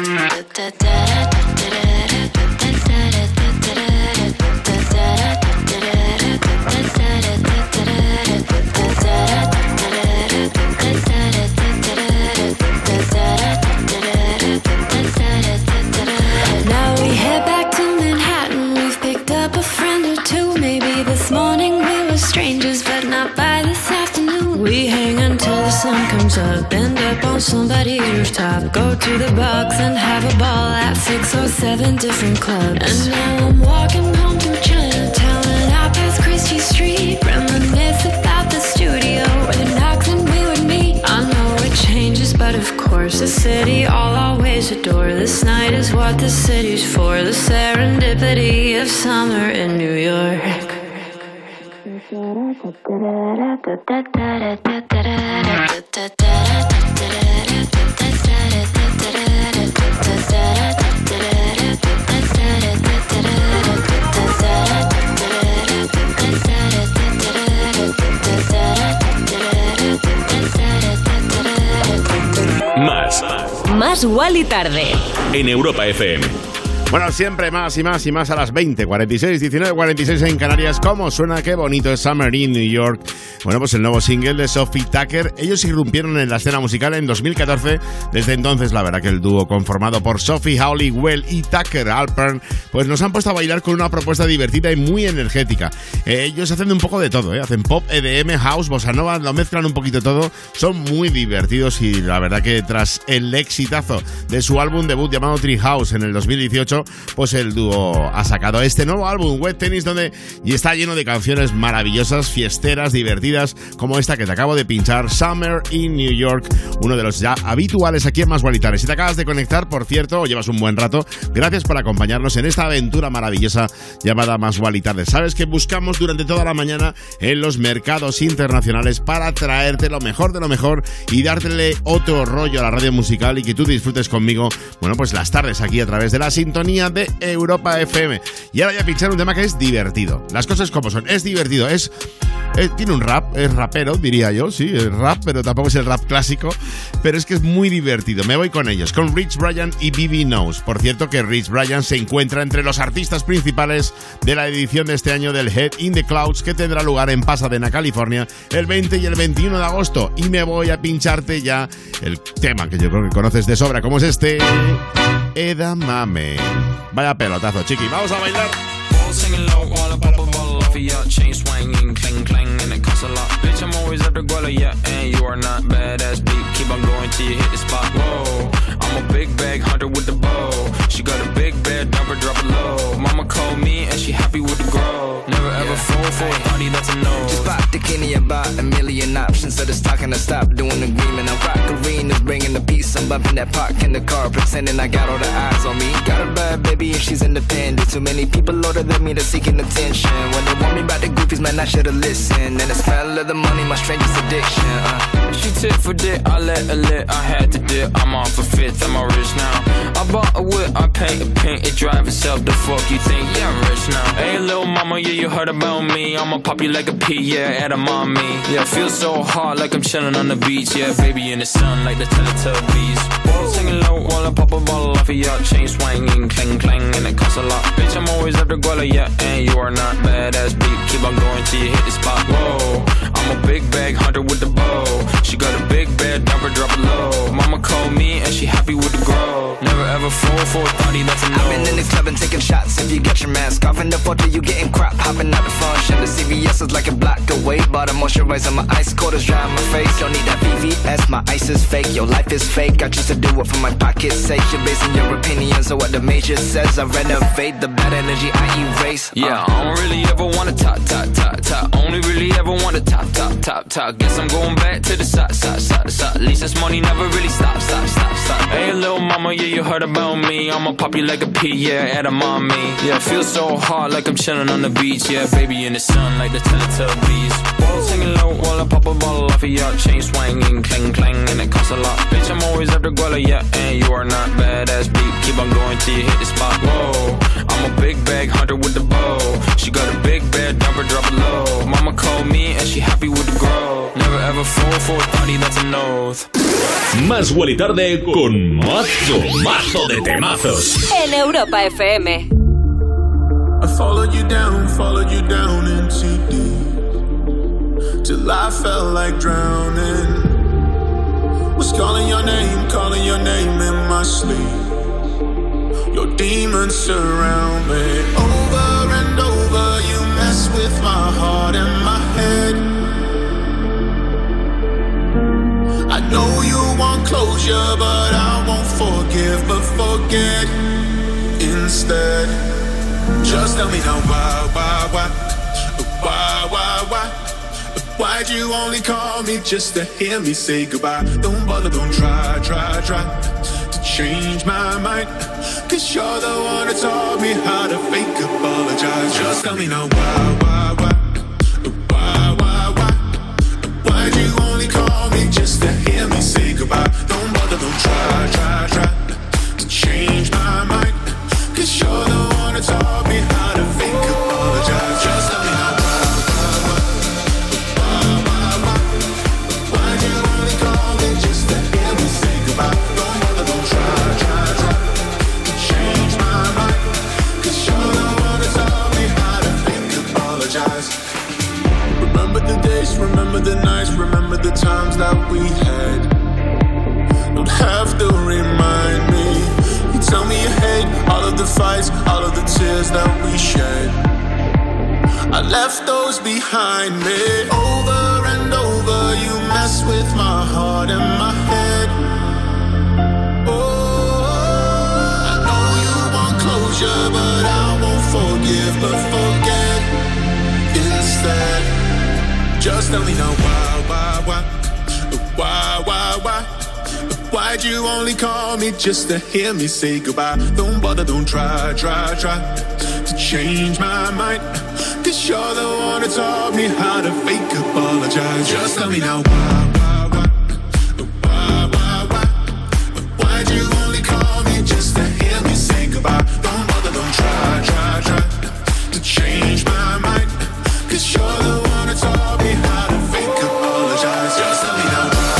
Now we head back to Manhattan. We've picked up a friend or two. Maybe this morning we were strangers, but not by this afternoon. We hang until the sun comes up, end up on somebody's rooftop. Go to the box and have a ball at six or seven different clubs. And now I'm walking home through Chinatown and I pass Christie Street. Reminisce about the studio where the knocks and we would meet. I know it changes, but of course the city I'll always adore. This night is what the city's for. The serendipity of summer in New York. Más. Más Wally Tarde. En Europa F M. Bueno, siempre más y más y más a las veinte, cuarenta y seis, diecinueve, cuarenta y seis en Canarias. ¿Cómo suena? Qué bonito es Summer in New York. Bueno, pues el nuevo single de Sophie Tucker. Ellos irrumpieron en la escena musical en dos mil catorce. Desde entonces, la verdad que el dúo conformado por Sophie Howley-Well y Tucker Alpern, pues nos han puesto a bailar con una propuesta divertida y muy energética. Eh, ellos hacen un poco de todo, ¿eh? Hacen pop, E D M, house, bossa nova, lo mezclan un poquito todo. Son muy divertidos y la verdad que tras el exitazo de su álbum debut llamado Treehouse en el dos mil dieciocho, pues el dúo ha sacado este nuevo álbum, Wet Tennis, donde y está lleno de canciones maravillosas, fiesteras, divertidas, como esta que te acabo de pinchar, Summer in New York, uno de los ya habituales aquí en Más Wally Tarde. Si te acabas de conectar, por cierto, o llevas un buen rato, gracias por acompañarnos en esta aventura maravillosa llamada Más Wally Tarde. Sabes que buscamos durante toda la mañana en los mercados internacionales para traerte lo mejor de lo mejor y dártele otro rollo a la radio musical y que tú disfrutes conmigo, bueno, pues las tardes aquí a través de la sintonía de Europa F M. Y ahora voy a pinchar un tema que es divertido. Las cosas como son. Es divertido. Es, es tiene un rap. Es rapero, diría yo. Sí, es rap, pero tampoco es el rap clásico. Pero es que es muy divertido. Me voy con ellos. Con Rich Brian y B B Knows. Por cierto que Rich Brian se encuentra entre los artistas principales de la edición de este año del Head in the Clouds, que tendrá lugar en Pasadena, California, el veinte y el veintiuno de agosto. Y me voy a pincharte ya el tema que yo creo que conoces de sobra, como es este Edamame. Vaya pelotazo, chiqui. Vamos a bailar. Singing low while I pop a bottle off of ya. Chain swinging, clang clang, and it costs a lot. Bitch, I'm always at the guala, yeah, and you are not badass beat. Keep on going till you hit the spot. Whoa, I'm a big bag hunter with the bow. She got a big bed, number drop it low. Mama called me and she happy with the grow. Never ever fall for a body that's a no. Just pop the bikini about a million options. So just talking to stop doing agreement. I'm rock arenas, bringing the peace. I'm bumping that park in the car, pretending I got all the eyes on me. Got a bad baby and she's independent. Too many people older than me, they're seeking attention. When they want me about the goofies, man, I should've listened. And the smell of the money, my strangest addiction. Uh. She tit for dick, I let her lit. I had to dip, I'm off a fifth, I'm all rich now. I bought a whip, I paint a pink, it drive itself. The fuck you think? Yeah, I'm rich now. Hey, little mama, yeah, you heard about me. I'ma pop you like a pea, yeah, at a mommy. Yeah, feel so hot like I'm chilling on the beach. Yeah, baby in the sun like the Teletubbies. Whoa. Singing low while I pop a bottle off of your chain swinging, clang clang, and it costs a lot. Bitch, I'm always after Guala, yeah, and you are not badass beat. Keep on going till you hit the spot. Whoa, I'm a big bag hunter with the bow. She got a big bed, dumper, drop it low. Mama called me and she happy with the grow. Never ever fall for a thotty, that's a no. I've been in the club and taking shots. If you get your mask off in the photo, you getting crap. Hopping out the function. The C V S is like a block away. Bought a moisturizer, my ice cold is dry on my face. Don't need that V V S, my ice is fake. Your life is fake, I choose to do it for my pocket's sake. You're basing your opinions on what the major says. I renovate the bad energy I erase. uh. Yeah, I don't really ever wanna top, top, top, top. Only really ever wanna top, top, top, top. Guess I'm going back to the side, side, side, side. At least this money never really stops, stop, stop, stop. Hey, little mama, yeah, you heard about me. I'ma pop you like a pea, yeah, at a mommy. Yeah, feel so hot like I'm chilling on the beach. Yeah, baby in the sun like the Teletubbies. Whoa. Singing low while I pop a bottle off of your chain swinging, clang clang, and it costs a lot. Bitch, I'm always after Guala, yeah, and you are not badass beat. Keep on going till you hit the spot. Whoa, I'm a big bag hunter with the bow. She got a big bed, dumper, drop it low. Mama called me and she happy with the grow. Never ever fall for a thotty, that's an oath. Más Wally Tarde con mazo, mazo de temazos. En Europa F M. I followed you down, followed you down into deep, till I felt like drowning. Was calling your name, calling your name in my sleep. Your demons surround me. Over and over you mess with my heart and my head. I know you want closure, but I won't forgive, but forget instead. Just tell me now why, why, why, why, why, why? Why'd you only call me just to hear me say goodbye? Don't bother, don't try, try, try to change my mind, cause you're the one that taught me how to fake apologize. Just tell me now why, why, why, why, why, why? Why'd you only call me just to hear me say goodbye? Don't bother, don't try, try, try to change my mind, cause you're the one that taught me how to fake apologize. Just tell me now why, why, why, why, why, why? Why'd you only call me just to hear me say goodbye? Don't bother, don't try, try, try to change my mind, cause you're the one that taught me how to fake apologize. Remember the days, remember the nights, remember the times that we had. Don't have to remind me. You tell me you hate all of the fights, all of the tears that we shed. I left those behind me. Over and over you mess with my heart and my head. Oh, I know you want closure, but I won't forgive, but forget instead. Just tell me now why, why, why, why, why, why? Why'd you only call me just to hear me say goodbye? Don't bother, don't try, try, try to change my mind, cause you're the one that taught me how to fake apologize. Just tell me now why, why, why, why, why, why? Why'd you only call me just to hear me say goodbye? Don't bother, don't try, try, try to change my mind, cause you're the one that taught me how to fake apologize. Just tell me now why.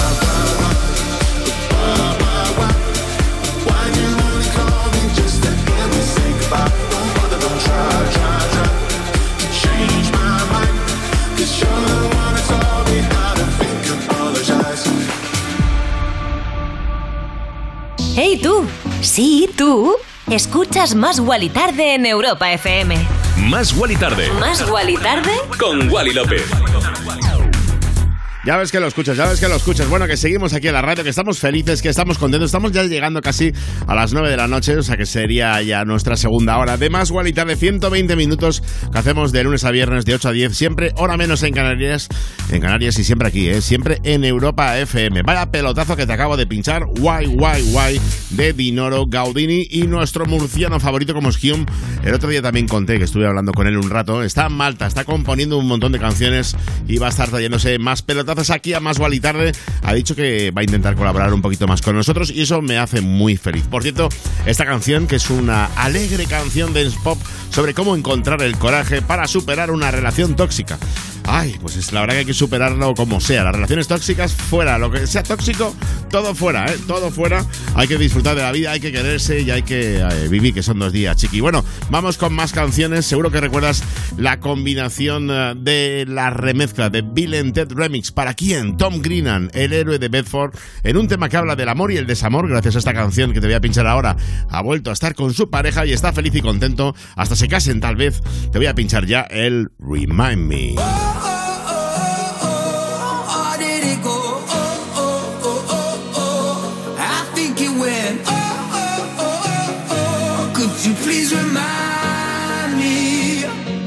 Hey tú, sí tú, escuchas Más Wally Tarde en Europa F M. Más Wally Tarde. Más Wally Tarde con Wally López. Ya ves que lo escuchas, ya ves que lo escuchas. Bueno, que seguimos aquí en la radio, que estamos felices, que estamos contentos. Estamos ya llegando casi a las nueve de la noche, o sea que sería ya nuestra segunda hora de Más Guali Tarde, ciento veinte minutos que hacemos de lunes a viernes de ocho a diez, siempre hora menos en Canarias, en Canarias y siempre aquí, ¿eh? Siempre en Europa F M. Vaya pelotazo que te acabo de pinchar, Guay, guay, guay, de Dinoro Gaudini y nuestro murciano favorito como es Hume. El otro día también conté que estuve hablando con él un rato. Está en Malta, está componiendo un montón de canciones y va a estar trayéndose más pelotazos aquí a Más Guali Tarde. Ha dicho que va a intentar colaborar un poquito más con nosotros y eso me hace muy feliz. Por cierto, esta canción, que es una alegre canción de pop sobre cómo encontrar el coraje para superar una relación tóxica. Ay, pues es la verdad que hay que superarlo como sea. Las relaciones tóxicas fuera, lo que sea tóxico, todo fuera, ¿eh? Todo fuera. Hay que disfrutar de la vida, hay que quererse y hay que eh, vivir, que son dos días, chiqui. Bueno, vamos con más canciones. Seguro que recuerdas la combinación uh, de la remezcla de Bill and Ted Remix. ¿Para quién? Tom Grennan, el héroe de Bedford, en un tema que habla del amor y el desamor. Gracias a esta canción que te voy a pinchar ahora, ha vuelto a estar con su pareja y está feliz y contento. Hasta se casen, tal vez. Te voy a pinchar ya el Remind Me. Could you please remind me?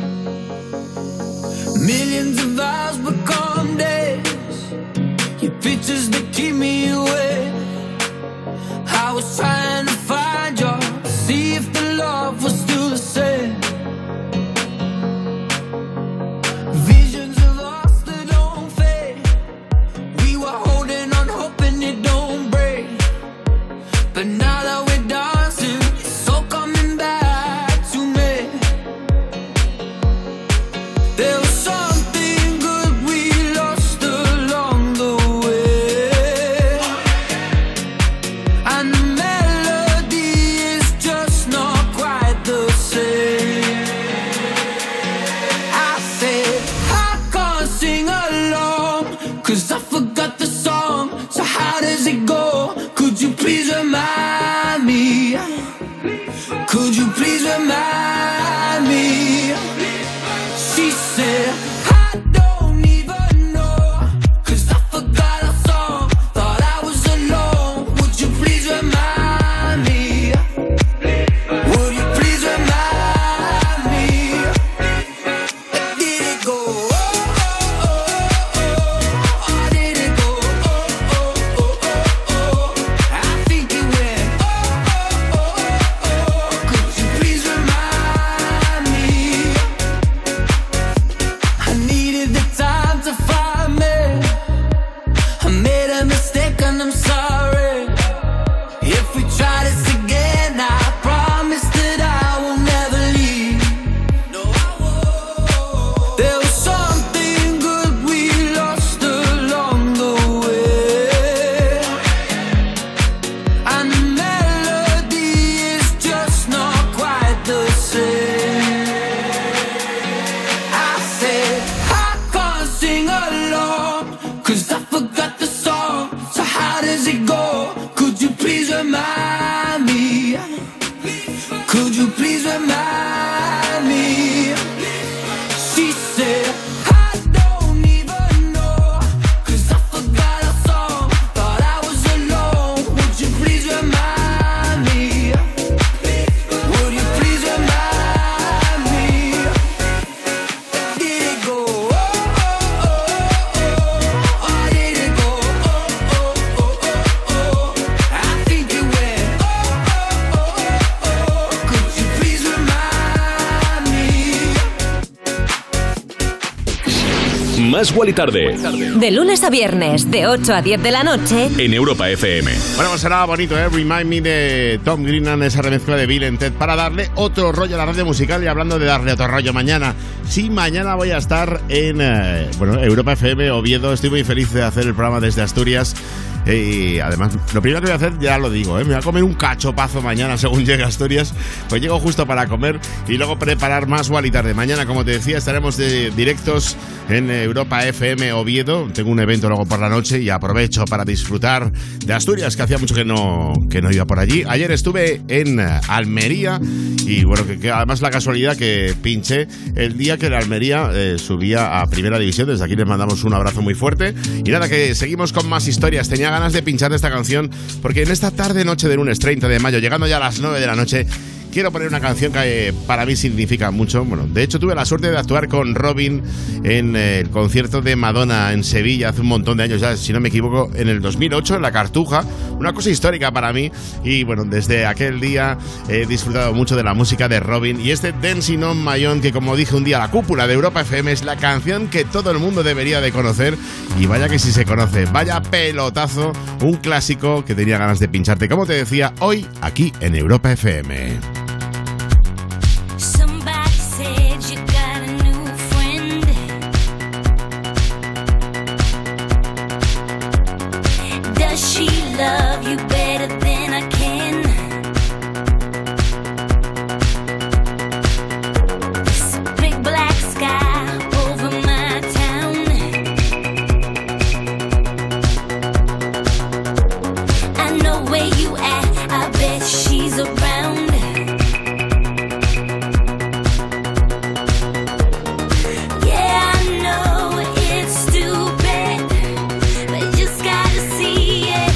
Millions of hours become days. Your pictures that keep me away. I was trying to find you, see if the love was still the same. Visions of us that don't fade. We were holding on, hoping it don't break. But now that we're dancing, it's all coming back to me. There was something good we lost along the way, and the melody is just not quite the same. I said I can't sing along, 'cause I forgot the song. So how does it go? Could you please remind me? Could you please remind me? She said I don't even know, 'cause I forgot our song. Thought I was alone. Would you please remind me? Would you please remind me? Where did it go? Oh, oh, oh, oh. Or did it go? Oh, oh, oh, oh, oh. I think it went. Oh, oh, oh, oh. Could you please remind me? I needed the time to find me. I made a mistake and I'm sorry. If we try this again, I promise that I will never leave. No, I won't. There was something good we lost along the way, and the melody is just not quite the same. I said I can't sing along, 'cause I forgot the song. So how does it go? Could you please remind me? Could you please remind me? She said I don't even know, 'cause I forgot our song. Thought I was alone. Would you please remind me? Would you please remind me? Where did it go? Oh, oh, oh, oh. Or did it go? Oh, oh, oh, oh, oh. I think it went. Oh, oh, oh, oh. Could you please remind me? Más Guali Tarde De lunes a viernes, de ocho a diez de la noche. en Europa F M. Bueno, pues será bonito, ¿eh? Remind Me de Tom Grennan, esa remezcla de Bill and Ted, para darle otro rollo a la radio musical. Y hablando de darle otro rollo, mañana, sí, mañana voy a estar en eh, bueno, Europa F M, Oviedo. Estoy muy feliz de hacer el programa desde Asturias. Y además, lo primero que voy a hacer, ya lo digo, ¿eh? Me voy a comer un cachopazo mañana según llegue a Asturias. Pues llego justo para comer y luego preparar Más Guali Tarde. Mañana, como te decía, estaremos de directos en Europa F M Oviedo. Tengo un evento luego por la noche y aprovecho para disfrutar de Asturias, que hacía mucho que no, que no iba por allí. Ayer estuve en Almería y bueno, que, que además la casualidad que pinché el día que que el Almería eh, subía a Primera División. Desde aquí les mandamos un abrazo muy fuerte. Y nada, que seguimos con más historias. Tenía ganas de pinchar esta canción porque en esta tarde noche de lunes treinta de mayo, llegando ya a las nueve de la noche, quiero poner una canción que eh, para mí significa mucho. Bueno, de hecho tuve la suerte de actuar con Robin en eh, el concierto de Madonna en Sevilla hace un montón de años ya, si no me equivoco, en el dos mil ocho, en la Cartuja. Una cosa histórica para mí. Y bueno, desde aquel día he disfrutado mucho de la música de Robin. Y este Dancing on My Own, que como dije un día, la cúpula de Europa F M, es la canción que todo el mundo debería de conocer. Y vaya que sí se conoce. Vaya pelotazo. Un clásico que tenía ganas de pincharte, como te decía, hoy aquí en Europa F M. Love you better than I can. This big black sky over my town. I know where you at, I bet she's around. Yeah, I know it's stupid, but you just gotta see it.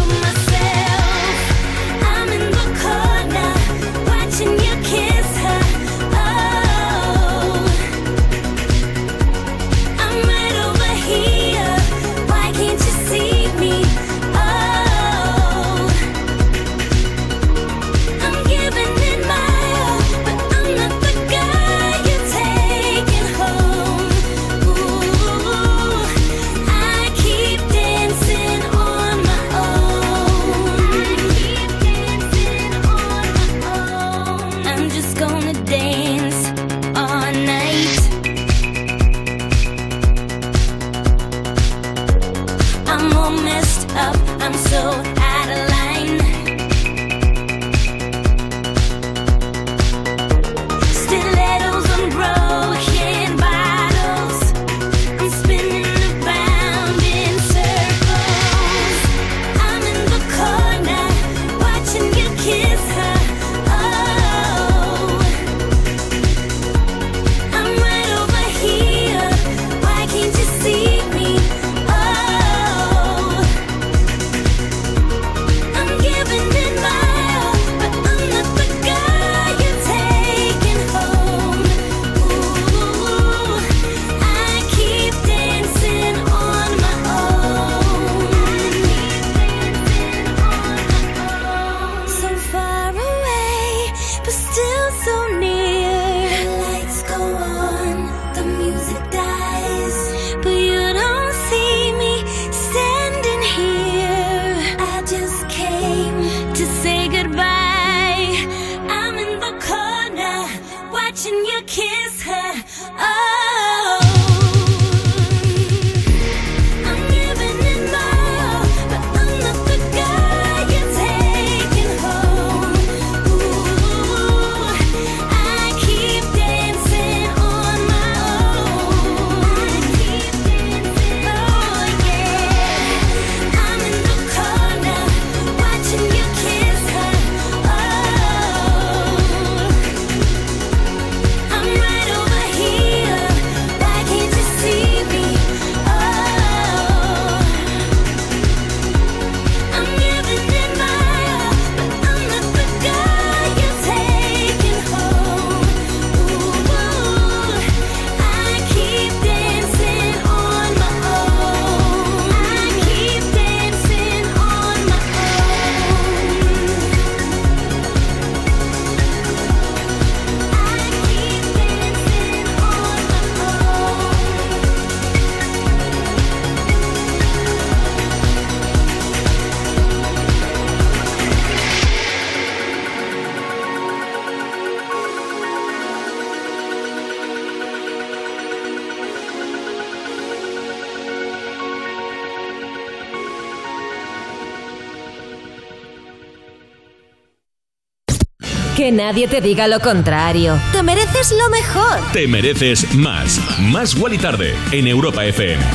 Que nadie te diga lo contrario. Te mereces lo mejor. Te mereces más. Más Wally Tarde en Europa F M.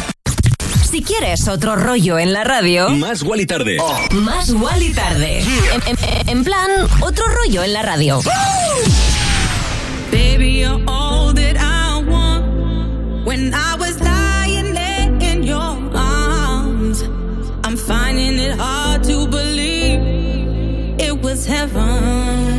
Si quieres otro rollo en la radio, Más Wally Tarde. Oh. Más Wally Tarde. En, en, en plan, otro rollo en la radio. Baby, you're all that I want. When I was lying there in your arms, I'm finding it hard to believe it was heaven.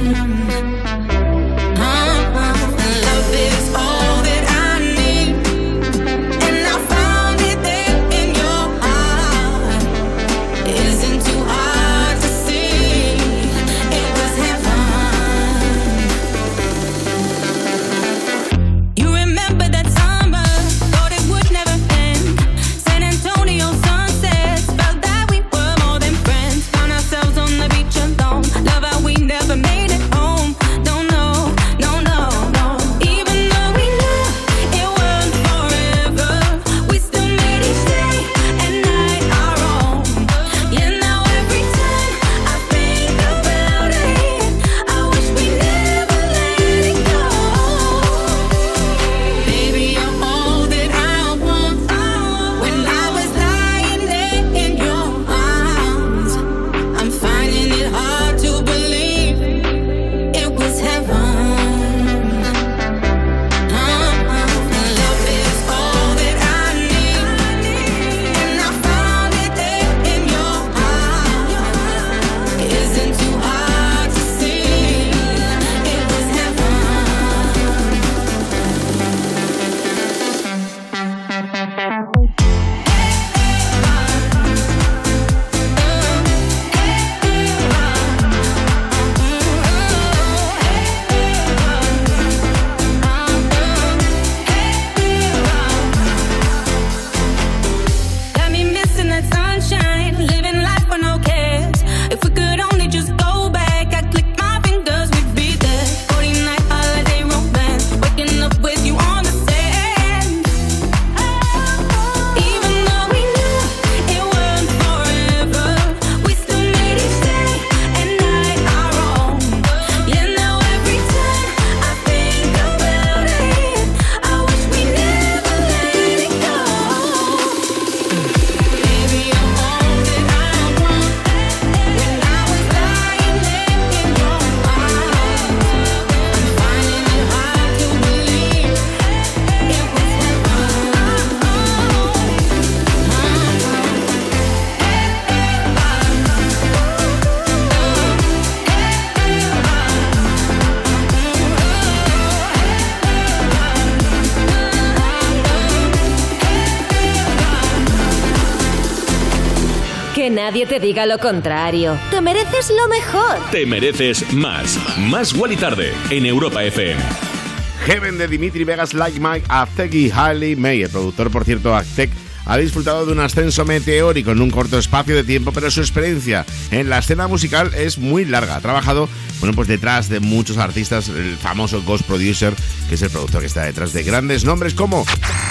Nadie te diga lo contrario. Te mereces lo mejor. Te mereces más. Más Wally Tarde en Europa F M. Heaven de Dimitri Vegas, Like Mike, Aztec y Hailey May. El productor, por cierto, Aztec, ha disfrutado de un ascenso meteórico en un corto espacio de tiempo, pero su experiencia en la escena musical es muy larga. Ha trabajado, bueno, pues detrás de muchos artistas, el famoso Ghost Producer, que es el productor que está detrás de grandes nombres como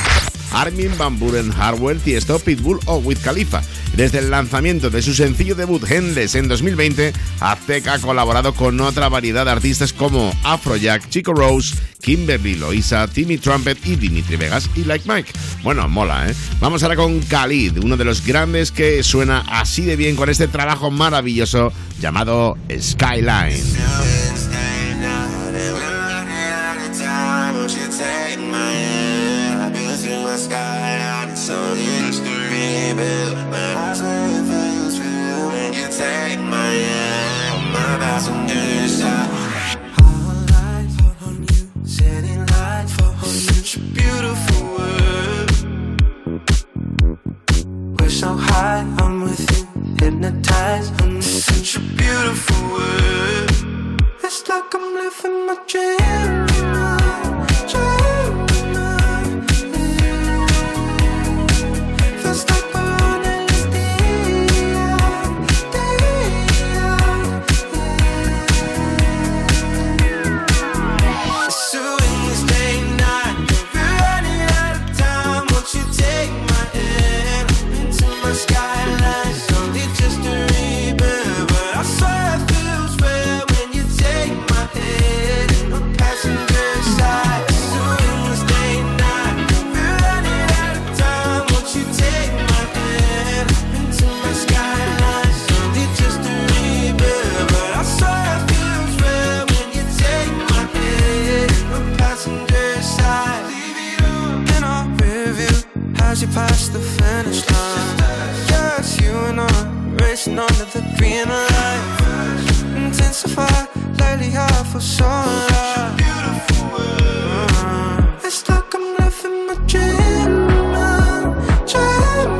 Armin van Buuren, Hardwell, Tiesto, Pitbull o Wiz Khalifa. Desde el lanzamiento de su sencillo debut Endless en dos mil veinte, Aztec ha colaborado con otra variedad de artistas como Afrojack, Chico Rose, Kimberly Loaiza, Timmy Trumpet y Dimitri Vegas y Like Mike. Bueno, mola, ¿eh? Vamos ahora con Khalid, uno de los grandes que suena así de bien con este trabajo maravilloso llamado Skyline. Beautiful world. We're so high, I'm with you, hypnotized. I'm in such a beautiful world. It's like I'm living my dream. Passenger being alive. Intensify, lately I feel so alive. Mm. It's like I'm living my dream, dream.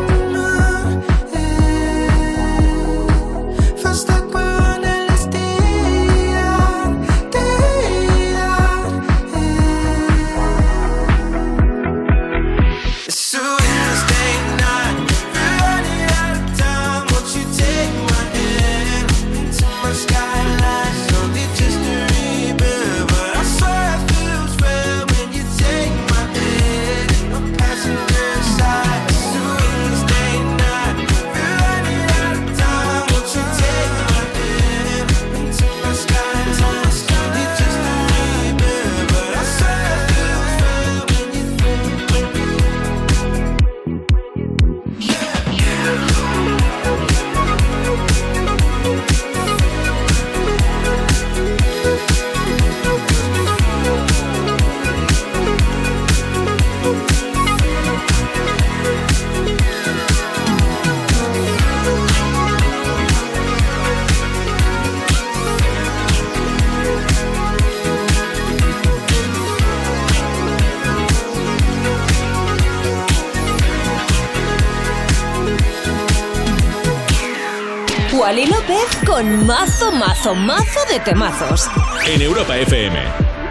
Wally López con mazo, mazo, mazo de temazos. En Europa F M.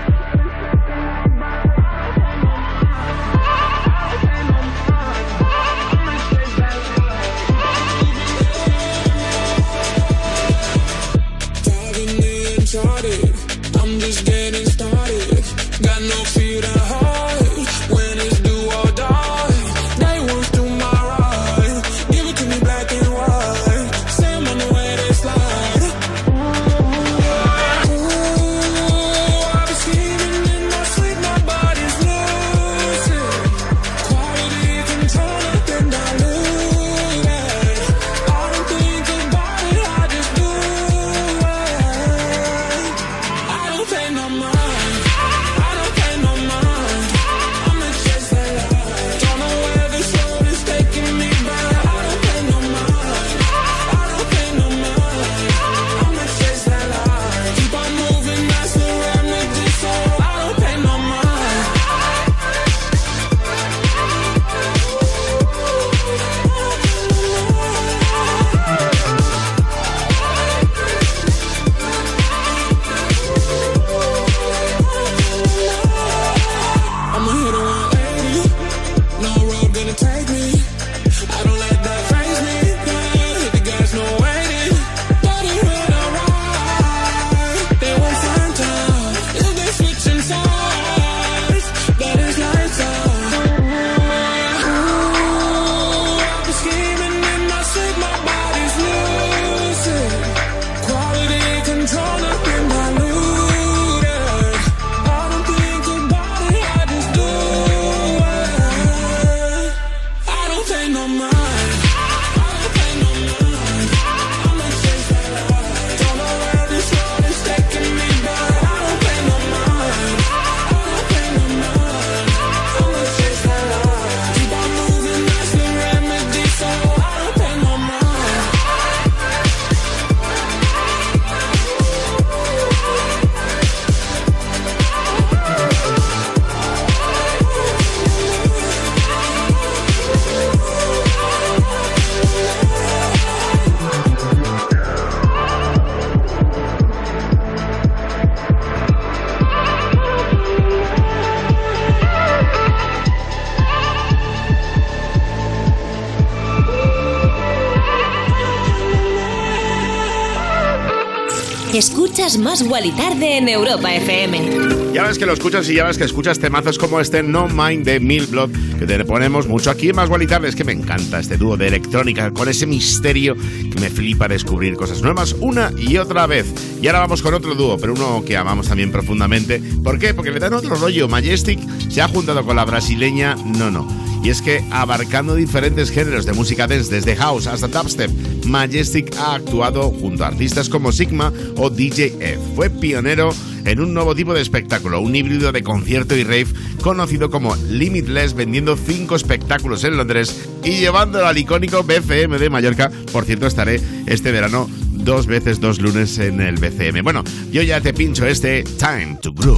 I'm just getting started. Got no fear to hide. When it's do or die, they want to my ride. Give it to me black and white. Same on the way they slide. Ooh, I've been scheming in my sleep. My body's losing quality control. Nothing diluted. I don't think about it. I just do it. I don't pay no mind. I don't pay no mind. I'ma chase that light. Don't know where this road is taking me, but I don't pay no mind. I don't pay no mind. I'ma chase that light. Keep on moving, that's the remedy, so I don't pay no mind. I'ma hit a one eighty. No road gonna take me. I don't let that phase me. Yeah, hit the gas, no waiting. Body when I ride, they won't find time. If they switching sides, that is lights out. Ooh, I've been scheming in my sleep. My body's losing quality control. Nothing diluted. I don't think about it. I just do it. I don't pay no mind. I don't pay no mind. I'ma chase that light. Don't know where this road is taking me, but I don't pay no mind. I don't pay no mind. I'ma chase that light. Keep on moving, that's the remedy, so I don't pay no mind. Escuchas Más Wally Tarde en Europa F M. Ya ves que lo escuchas y ya ves que escuchas temazos como este No Mind de Milk Blood, que te ponemos mucho aquí en Más Wally Tarde. Es que me encanta este dúo de electrónica con ese misterio que me flipa descubrir cosas nuevas una y otra vez. Y ahora vamos con otro dúo, pero uno que amamos también profundamente. ¿Por qué? Porque le dan otro rollo. Majestic se ha juntado con la brasileña Nono. Y es que abarcando diferentes géneros de música dance, desde house hasta dubstep, Majestic ha actuado junto a artistas como Sigma o D J F. Fue pionero en un nuevo tipo de espectáculo, un híbrido de concierto y rave conocido como Limitless, vendiendo cinco espectáculos en Londres y llevándolo al icónico B F M de Mallorca. Por cierto, estaré este verano dos veces dos lunes en el B C M. Bueno, yo ya te pincho este Time to Groove.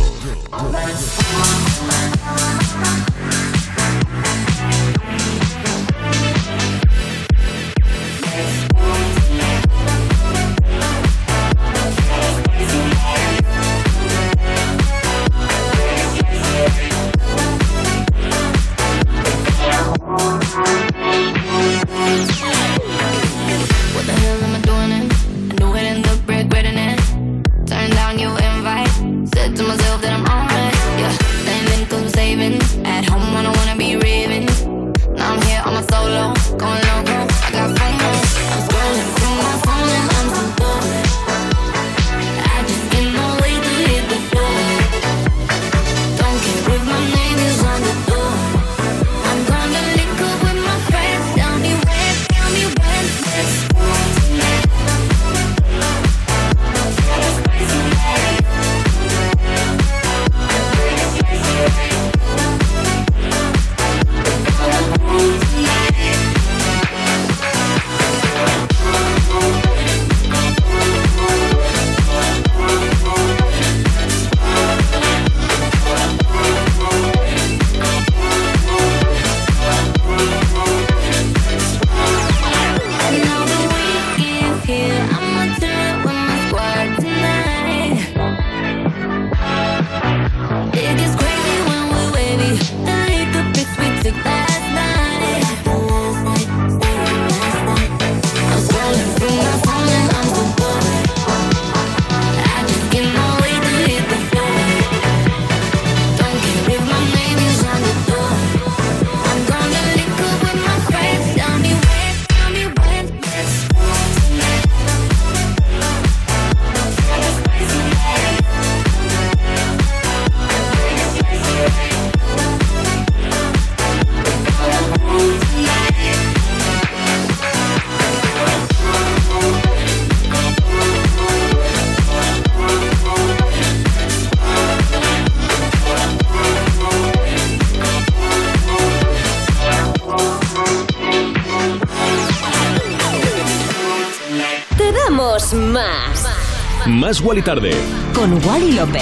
Más. Más Wally Tarde. Con Wally López.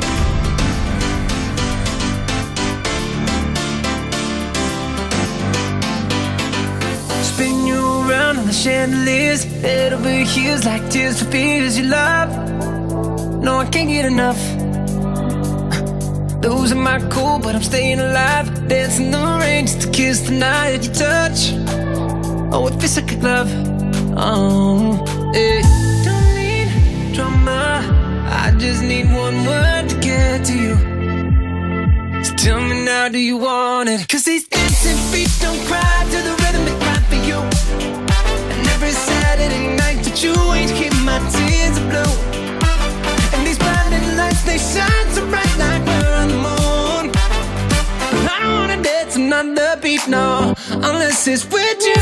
Spin you around on the chandeliers, head over heels like tears for fears you love. No, I can't get enough. Losing my cool, but I'm staying alive. Dancing the rain just to kiss the night that you touch. Oh, it feels like a glove. Oh, yeah. Don't need drama, I just need one word to get to you. So tell me now, do you want it? Cause these dancing feet don't cry to the rhythm they cry for you. And every Saturday night that you ain't keep my tears are blue. And these blinding lights, they shine so bright like we're on the moon. But I don't wanna dance another beat, no, unless it's with you.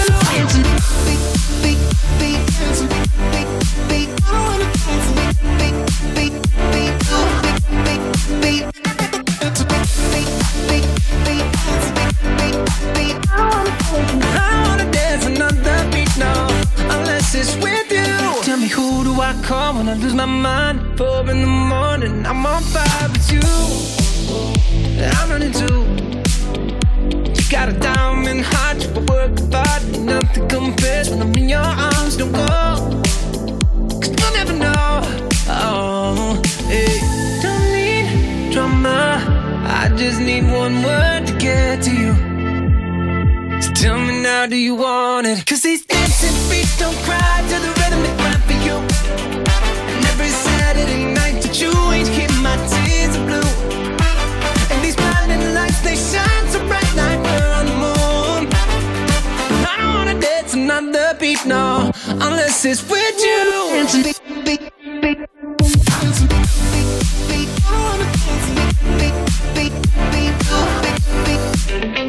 I wanna dance another beat, no, unless it's with you. Tell me, who do I call when I lose my mind? Four in the morning, I'm on fire with you. I'm running too. You got a diamond heart, you work hard, nothing compares when I'm in your arms. Don't go, cause you'll never know. Oh, hey. Don't need drama, I just need one word to get to you. So tell me now, do you want it? Cause these dancing feet don't cry to the rhythm they cry for you. And every Saturday night that you ain't keep my tears are blue. And these blinding lights, they shine so bright like we're on the moon. But I don't wanna dance another beat, no, unless it's with you. Dancing beat, beat, beat. Dancing beat, beat, beat. I wanna dance beat, beat, beat, beat, beat, beat.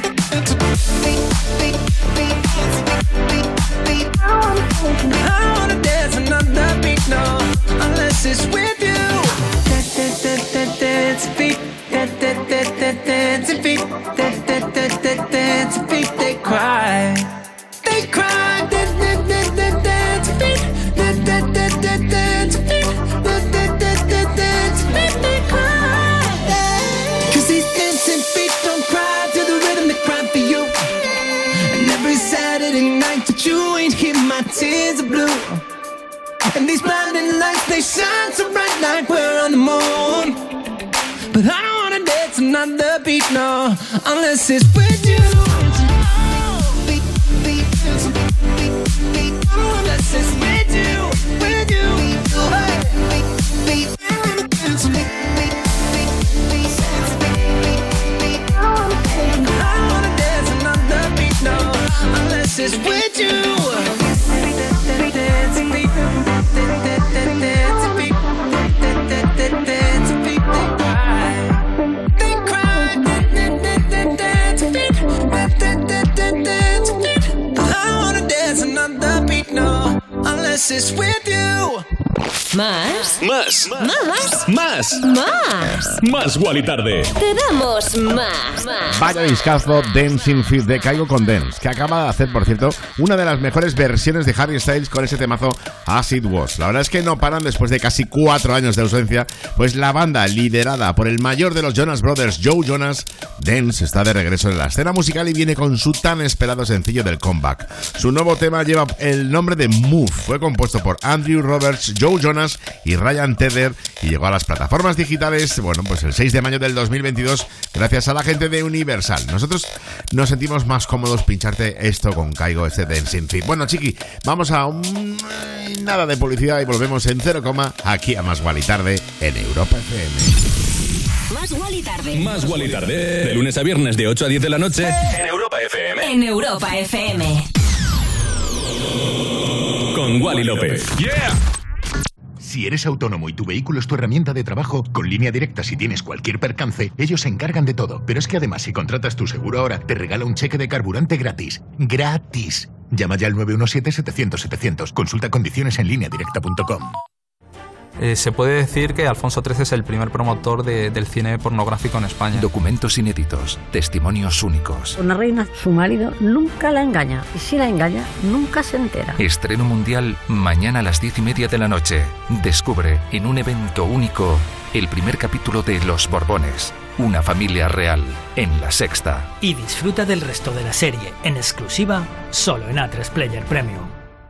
I wanna dance another beat, no, unless it's with you. Dance feet, dance feet, dance feet, they cry, they cry, dance feet, that you ain't hear my tears of blue. And these blinding lights, they shine so bright like we're on the moon. But I don't wanna dance another beat, no, unless it's with you. Unless it's with you, with you. I don't wanna dance another beat, no, unless it's with you. Unless it's with you. Más. Más. Más. Más. Más. Más Wally Tarde. Te damos más. más. Vaya discazo Dancing Feet de Kygo con Dance, que acaba de hacer, por cierto, una de las mejores versiones de Harry Styles con ese temazo As It Was. La verdad es que no paran después de casi cuatro años de ausencia, pues la banda liderada por el mayor de los Jonas Brothers, Joe Jonas, Dance, está de regreso en la escena musical y viene con su tan esperado sencillo del comeback. Su nuevo tema lleva el nombre de Move, fue compuesto por Andrew Roberts, Joe Jonas y Ryan Tedder y llegó a las plataformas digitales, bueno, pues el seis de mayo del dos mil veintidós gracias a la gente de Universal. Nosotros nos sentimos más cómodos pincharte esto con Kygo, este Dancing Feet. Bueno, chiqui, vamos a un... nada de publicidad y volvemos en cero coma aquí a Más Wally Tarde en Europa F M. Más Wally Tarde. Más Wally Tarde. De lunes a viernes de ocho a diez de la noche en Europa F M. En Europa F M. Con Wally López. Yeah. Si eres autónomo y tu vehículo es tu herramienta de trabajo, con Línea Directa si tienes cualquier percance, ellos se encargan de todo. Pero es que además si contratas tu seguro ahora, te regala un cheque de carburante gratis. ¡Gratis! Llama ya al nueve uno siete, setecientos, setecientos. Consulta condiciones en línea directa punto com. Eh, se puede decir que Alfonso trece es el primer promotor de, del cine pornográfico en España. Documentos inéditos, testimonios únicos. Una reina, su marido nunca la engaña. Y si la engaña, nunca se entera. Estreno mundial mañana a las diez y media de la noche. Descubre en un evento único el primer capítulo de Los Borbones. Una familia real en La Sexta. Y disfruta del resto de la serie en exclusiva solo en A tres Player Premium.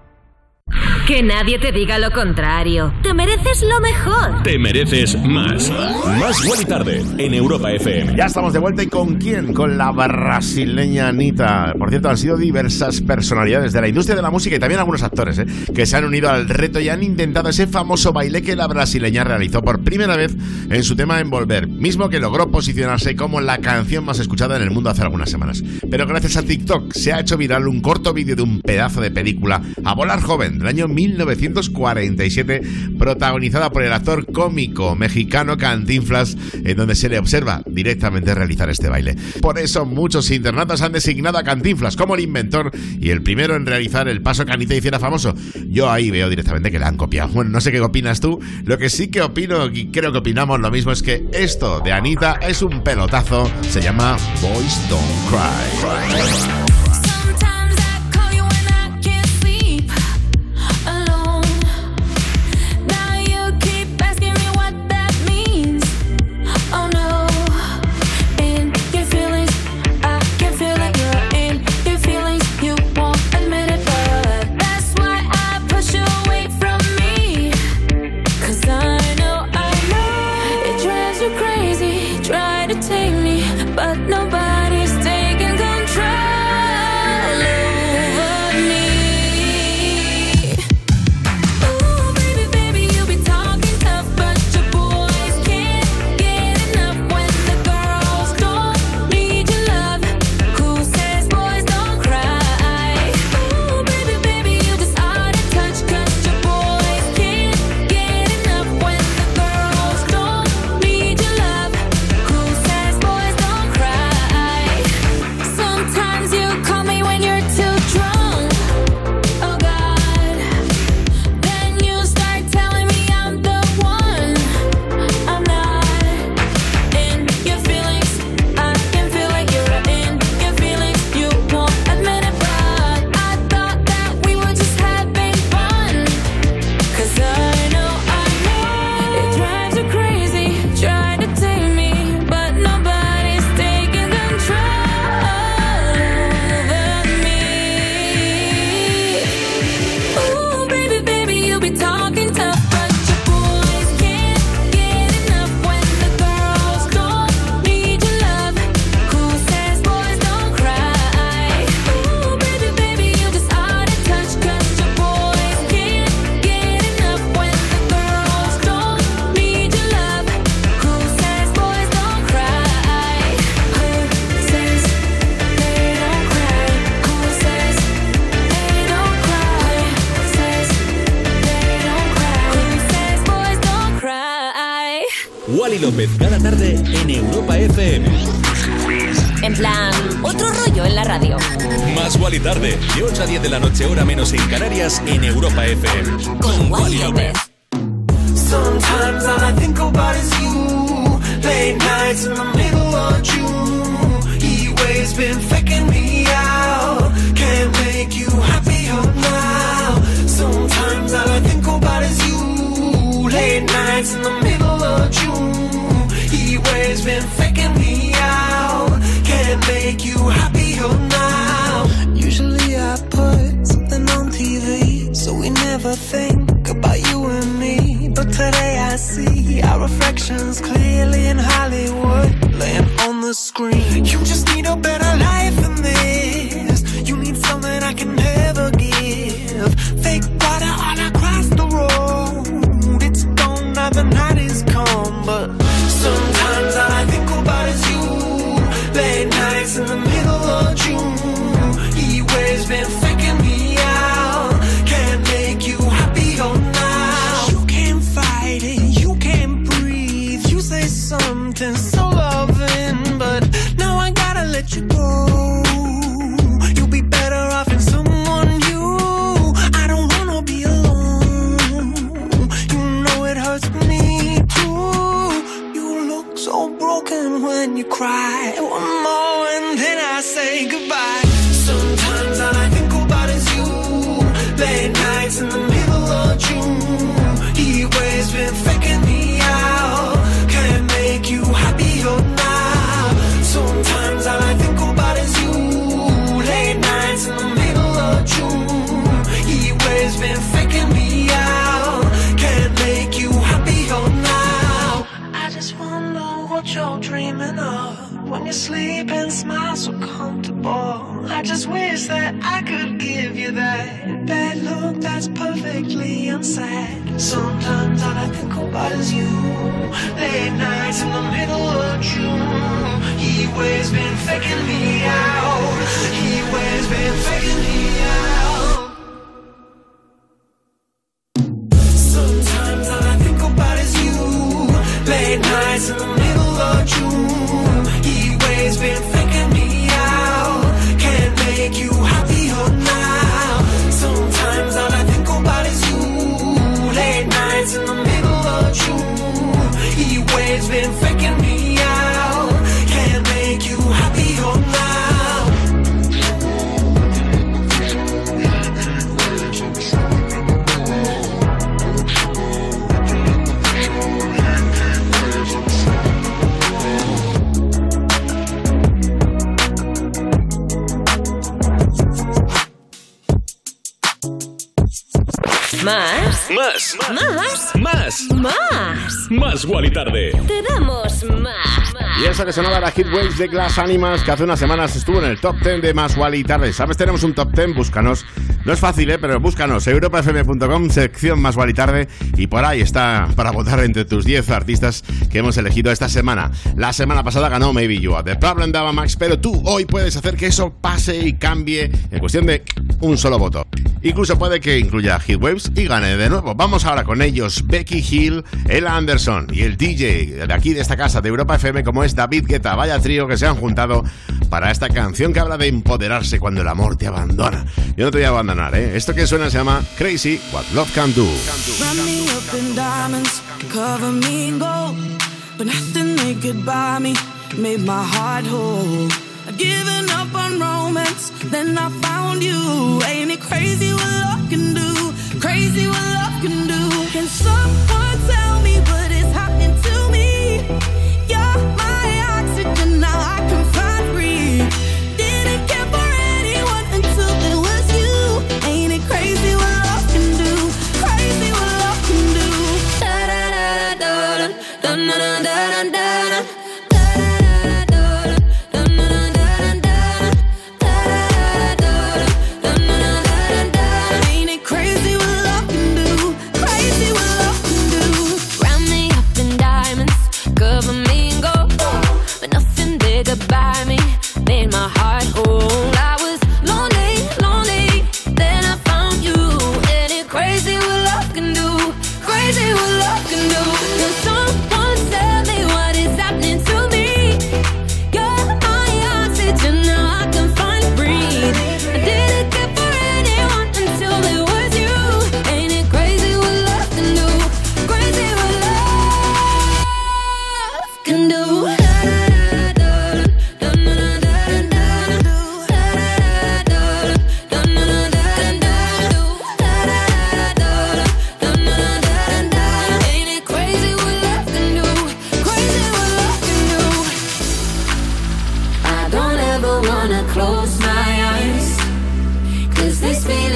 Que nadie te diga lo contrario. Te mereces lo mejor. Te mereces más. Más Wally Tarde en Europa F M. Ya estamos de vuelta. ¿Y con quién? Con la brasileña Anitta. Por cierto, han sido diversas personalidades de la industria de la música y también algunos actores, ¿eh? que se han unido al reto y han intentado ese famoso baile que la brasileña realizó por primera vez en su tema Envolver, mismo que logró posicionarse como la canción más escuchada en el mundo hace algunas semanas. Pero gracias a TikTok se ha hecho viral un corto vídeo de un pedazo de película, A Volar Joven, del año mil novecientos cuarenta y siete, protagonizada por el actor cómico mexicano Cantinflas, en donde se le observa directamente realizar este baile. Por eso muchos internautas han designado a Cantinflas como el inventor y el primero en realizar el paso que Anitta hiciera famoso. Yo ahí veo directamente que la han copiado. Bueno, no sé qué opinas tú. Lo que sí que opino, y creo que opinamos lo mismo, es que esto de Anitta es un pelotazo. Se llama Boys Don't Cry. Try to take me, but nobody's taking control. López cada tarde en Europa F M. En plan, otro rollo en la radio. Más Wally tarde, de ocho a diez de la noche, hora menos en Canarias, en Europa F M. Con Wally López. Sometimes all I think about is you. Late nights in the middle of June. He waves been faking me out. Can't make you happier now. Sometimes all I think about is you. Late nights in the middle of June. He waves been faking me out. Can't make you happier now. Usually I put something on T V, so we never think about you and me. But today I see our reflections clearly in Hollywood, laying on the screen. You just need a better life than this. You need something I can never give. Fake water all across the road. It's gone now, the night is come. But sometimes all I think about is you. Late nights in the middle of June. He waves been faking me out. Can't make you happier now. You can't fight it, you can't breathe. You say something so loving, but now I gotta let you go. You'll be better off in someone new. I don't wanna be alone. You know it hurts me too. You look so broken when you cry. One more and then I say goodbye. Sometimes all I think about is you. Late nights in the middle of June. He waves been faking me out. Can't make you happier now. Sometimes all I think about is you. Late nights in the middle of June. He waves been faking me out. Can't make you happier now. I just wonder what you're dreaming of. When you sleep and smile so comfortable. I just wish that I could give you that bad look that's perfectly unsaid. Sometimes all I think about is you. Late nights in the middle of June. He waves been faking me out. He waves been faking me out. Sometimes all I think about is you. Late nights in the middle of June. He waves been faking me out. Can't make you happier now. Sometimes all I think about is you. Late nights in the middle of June. He waves been faking me out. Can't make you happier now. Más. Más. Más. Más. Más. Más Wally tarde. Te damos más. Y eso que sonaba la Hit Waves de Glass Animals, que hace unas semanas estuvo en el top diez de Más Wally tarde. ¿Sabes? Tenemos un top diez, búscanos. No es fácil, ¿eh? Pero búscanos, europa f m punto com, sección Más Wally tarde, y por ahí está para votar entre tus diez artistas que hemos elegido esta semana. La semana pasada ganó Maybe You Are The Problem de Ava Max, pero tú hoy puedes hacer que eso pase y cambie en cuestión de un solo voto. Incluso puede que incluya Hit Waves y gane de nuevo. Vamos ahora con ellos, Becky Hill, Ella Anderson y el D J de aquí de esta casa de Europa F M, como es David Guetta. Vaya trío que se han juntado para esta canción que habla de empoderarse cuando el amor te abandona. Yo no te voy a abandonar, ¿eh? Esto que suena se llama Crazy What Love Can Do. Wrap me up in diamonds, cover me in gold, but nothing they could buy me made my heart whole. I'd given up on romance, then I found you. Ain't it crazy what love can do? Crazy what love can do. Can someone tell me what is happening to me? You're my oxygen, now I can find breathe. Didn't care for anyone until it was you. Ain't it crazy what love can do? Crazy what love can do. Da da da da da da da da da da. Da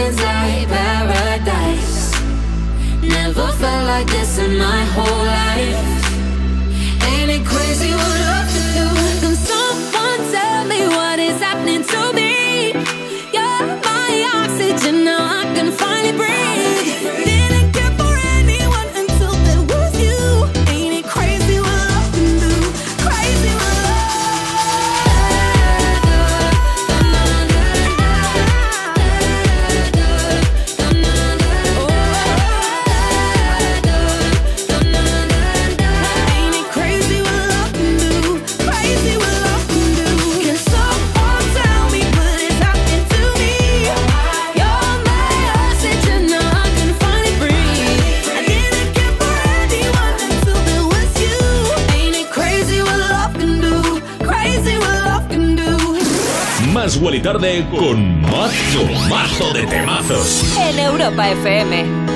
feelings like paradise. Never felt like this in my whole life. Ain't it crazy what love can do? Can someone tell me what is happening to me? You're my oxygen, now I can finally breathe. Didn't care for anyone until there was you. Ain't it crazy what love can do? Crazy what Más Wally Tarde con mazo, mazo de temazos. En Europa F M.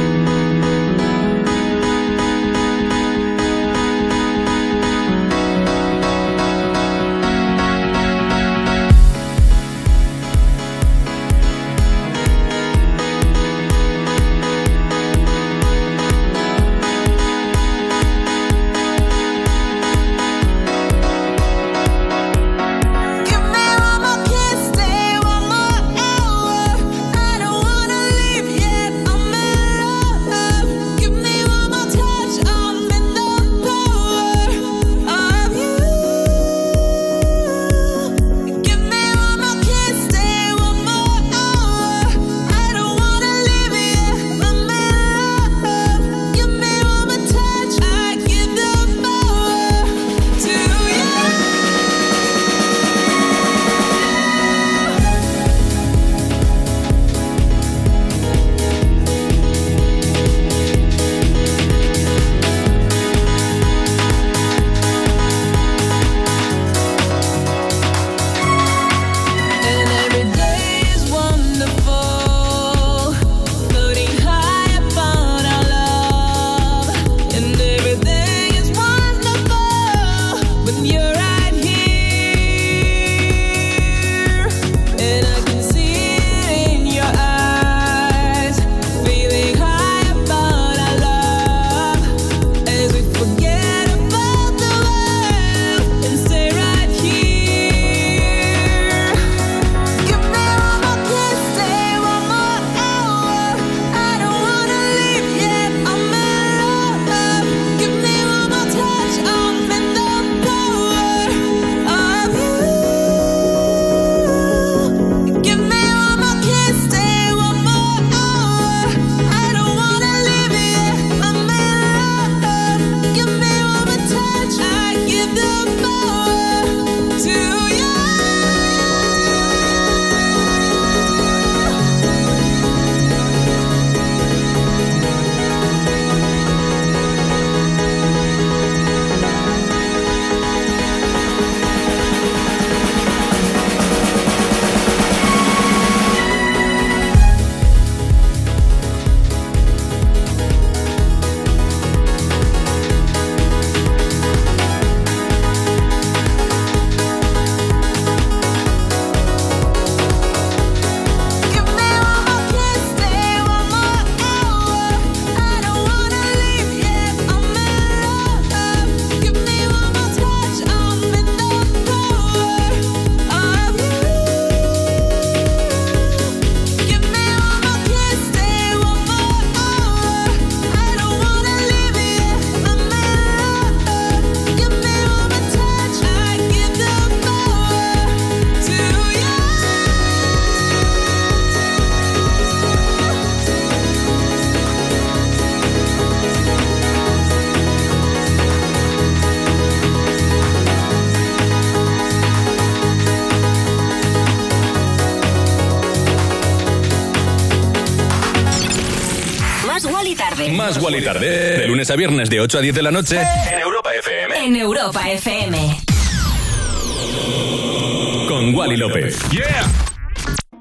Más Wally Tarde. De lunes a viernes de ocho a diez de la noche en Europa F M. En Europa F M. Con Wally López. Yeah.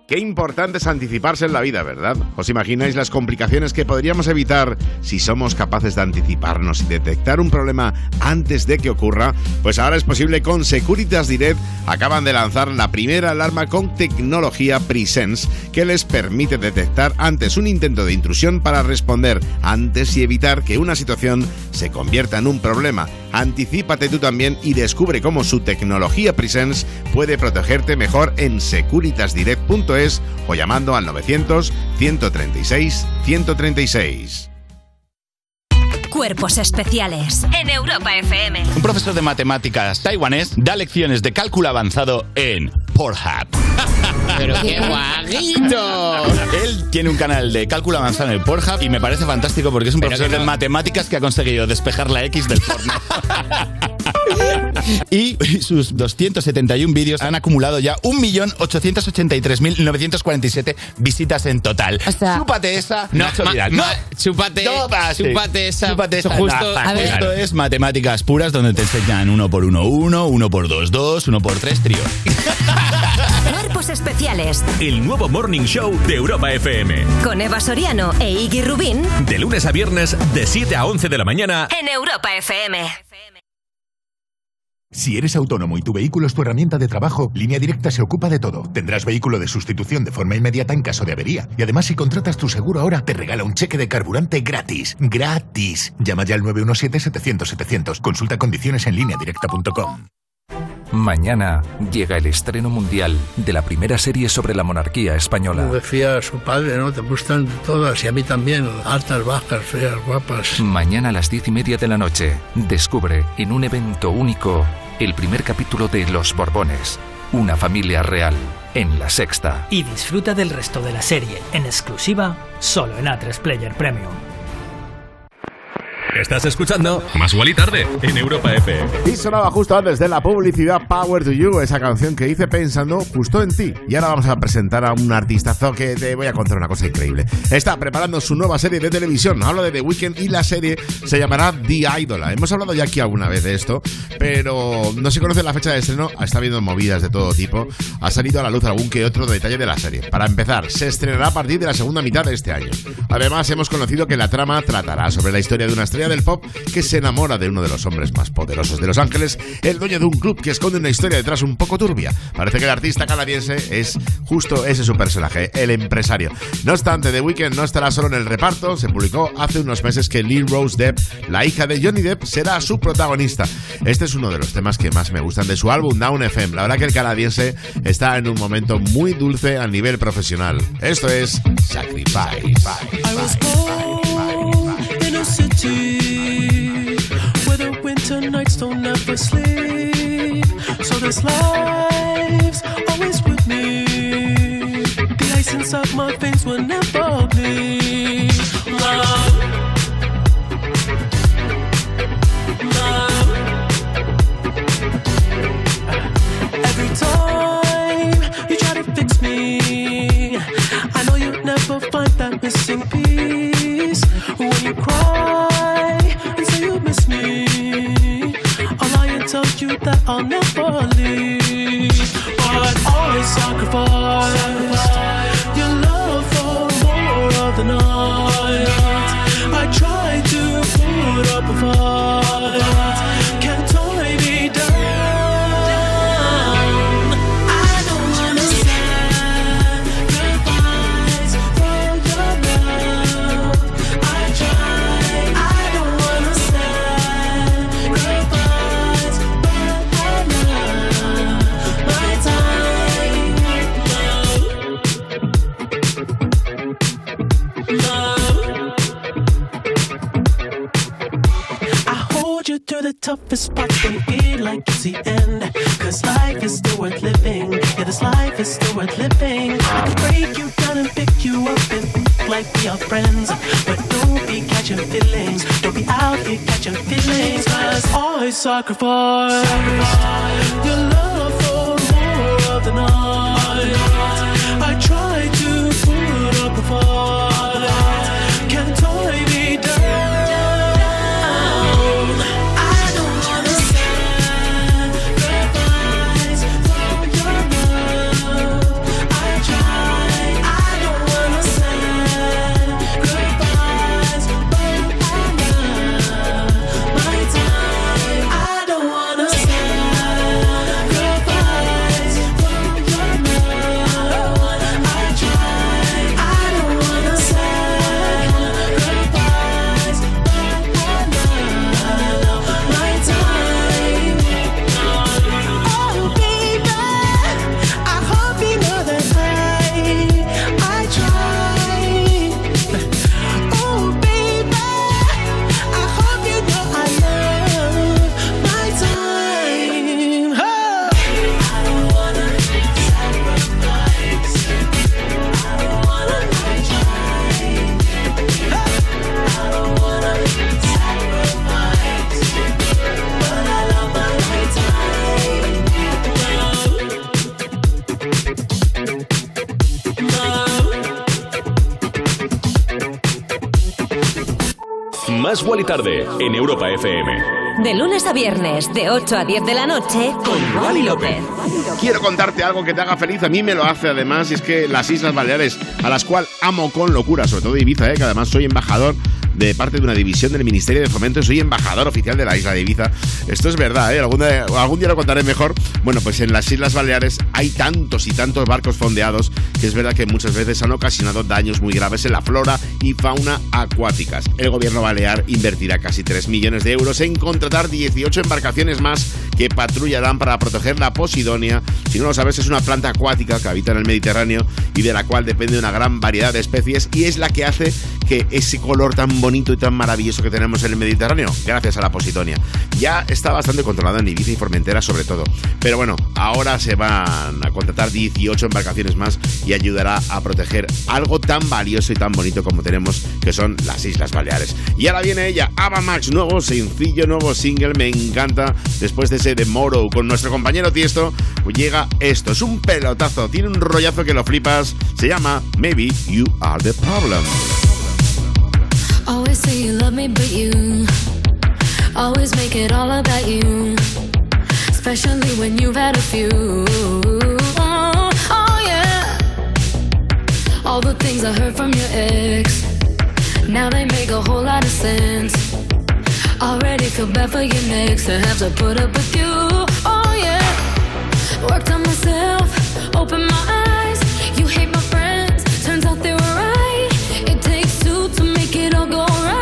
Qué importante es anticiparse en la vida, ¿verdad? ¿Os imagináis las complicaciones que podríamos evitar si somos capaces de anticiparnos y detectar un problema antes de que ocurra? Pues ahora es posible con Securitas Direct. Acaban de lanzar la primera alarma con tecnología Presence que les permite detectar antes un intento de intrusión para responder antes y evitar que una situación se convierta en un problema. Anticípate tú también y descubre cómo su tecnología Presence puede protegerte mejor en securitas direct punto es o llamando al novecientos, ciento treinta y seis, ciento treinta y seis. Cuerpos especiales en Europa F M. Un profesor de matemáticas taiwanés da lecciones de cálculo avanzado en Pornhub. ¡Pero qué guaguito! Él tiene un canal de cálculo avanzado en el Pornhub y me parece fantástico porque es un profesor no... de matemáticas que ha conseguido despejar la X del porno. Y sus doscientos setenta y uno vídeos han acumulado ya un millón ochocientos ochenta y tres mil novecientos cuarenta y siete visitas en total. O sea, chúpate esa, no, Nacho ma, Vidal. Ma, no, chúpate, tópate, chúpate esa. Chúpate esa. Justo, No, a ver. Esto es matemáticas puras donde te enseñan uno por uno, uno, uno por dos, dos, uno por tres, trío. Cuerpos especiales. El nuevo Morning Show de Europa F M. Con Eva Soriano e Iggy Rubín. De lunes a viernes, de siete a once de la mañana. En Europa F M. Si eres autónomo y tu vehículo es tu herramienta de trabajo, Línea Directa se ocupa de todo. Tendrás vehículo de sustitución de forma inmediata en caso de avería. Y además, si contratas tu seguro ahora, te regala un cheque de carburante gratis. ¡Gratis! Llama ya al nueve uno siete, setecientos, setecientos. Consulta condiciones en línea directa punto com. Mañana llega el estreno mundial de la primera serie sobre la monarquía española. Como decía su padre, ¿no? Te gustan todas y a mí también, altas, bajas, feas, guapas. Mañana a las diez y media de la noche, descubre en un evento único el primer capítulo de Los Borbones, una familia real, en La Sexta. Y disfruta del resto de la serie, en exclusiva, solo en A tres Player Premium. Estás escuchando Más Guali Tarde en Europa F M. Y sonaba justo antes de la publicidad Power to You, esa canción que hice pensando justo en ti. Y ahora vamos a presentar a un artistazo que te voy a contar una cosa increíble. Está preparando su nueva serie de televisión. Hablo de The Weeknd y la serie se llamará The Idol. Hemos hablado ya aquí alguna vez de esto, pero no se conoce la fecha de estreno. Está habiendo movidas de todo tipo. Ha salido a la luz algún que otro detalle de la serie. Para empezar, se estrenará a partir de la segunda mitad de este año. Además, hemos conocido que la trama tratará sobre la historia de una estrella del pop que se enamora de uno de los hombres más poderosos de Los Ángeles, el dueño de un club que esconde una historia detrás un poco turbia. Parece que el artista canadiense es justo ese su personaje, el empresario. No obstante, The Weeknd no estará solo en el reparto. Se publicó hace unos meses que Lil Rose Depp, la hija de Johnny Depp, será su protagonista. Este es uno de los temas que más me gustan de su álbum Down F M. La verdad que el canadiense está en un momento muy dulce a nivel profesional. Esto es Sacrifice. Where the winter nights don't ever sleep, so this life's always with me. The ice inside my veins will never bleed. Love, love. Every time you try to fix me, I know you'll never find that missing piece. When you cry and say you miss me, I'll lie and tell you that I'll never leave. But always sacrifice your love for more of the night. I try to put up a fight, can't tie me down. I don't wanna sacrifice for your love. I try, I don't wanna sacrifice, but I love my time. Love, love. I hold you through the toughest parts, baby, like it's the end. Cause life is still worth living. Yeah, this life is still worth living. I can break you down and pick you up and think like we are friends. But don't be catching feelings. Don't be out here catching feelings. Cause I sacrifice, sacrifice your love for more of the night. I try to put up a fight, can't tie me down. I don't wanna sacrifice for your love. I try. Más Wally Tarde en Europa F M. De lunes a viernes, de ocho a diez de la noche, con Wally López. Quiero contarte algo que te haga feliz. A mí me lo hace, además, y es que las Islas Baleares, a las cuales amo con locura, sobre todo Ibiza, ¿eh? Que además soy embajador de parte de una división del Ministerio de Fomento, soy embajador oficial de la isla de Ibiza. Esto es verdad, ¿eh? Algún día, algún día lo contaré mejor. Bueno, pues en las Islas Baleares hay tantos y tantos barcos fondeados que es verdad que muchas veces han ocasionado daños muy graves en la flora y fauna acuáticas. El gobierno balear invertirá casi tres millones de euros en contratar dieciocho embarcaciones más que patrullarán para proteger la Posidonia. Si no lo sabes, es una planta acuática que habita en el Mediterráneo y de la cual depende una gran variedad de especies, y es la que hace que ese color tan bonito y tan maravilloso que tenemos en el Mediterráneo, gracias a la Posidonia. Ya está bastante controlado en Ibiza y Formentera sobre todo, pero bueno, ahora se van a contratar dieciocho embarcaciones más y ayudará a proteger algo tan valioso y tan bonito como tenemos, que son las Islas Baleares. Y ahora viene ella, Ava Max, nuevo sencillo, nuevo single, me encanta. Después de ese The Morrow con nuestro compañero Tiesto, llega esto, es un pelotazo, tiene un rollazo que lo flipas, se llama Maybe You Are The Problem. Always say you love me, but you always make it all about you, especially when you've had a few. Oh, oh yeah. All the things I heard from your ex, now they make a whole lot of sense. Already feel bad for your next to have to put up with you. Oh yeah. Worked on myself, opened my eyes. You hate my friends, turns out they were right. It takes two to make it all go right.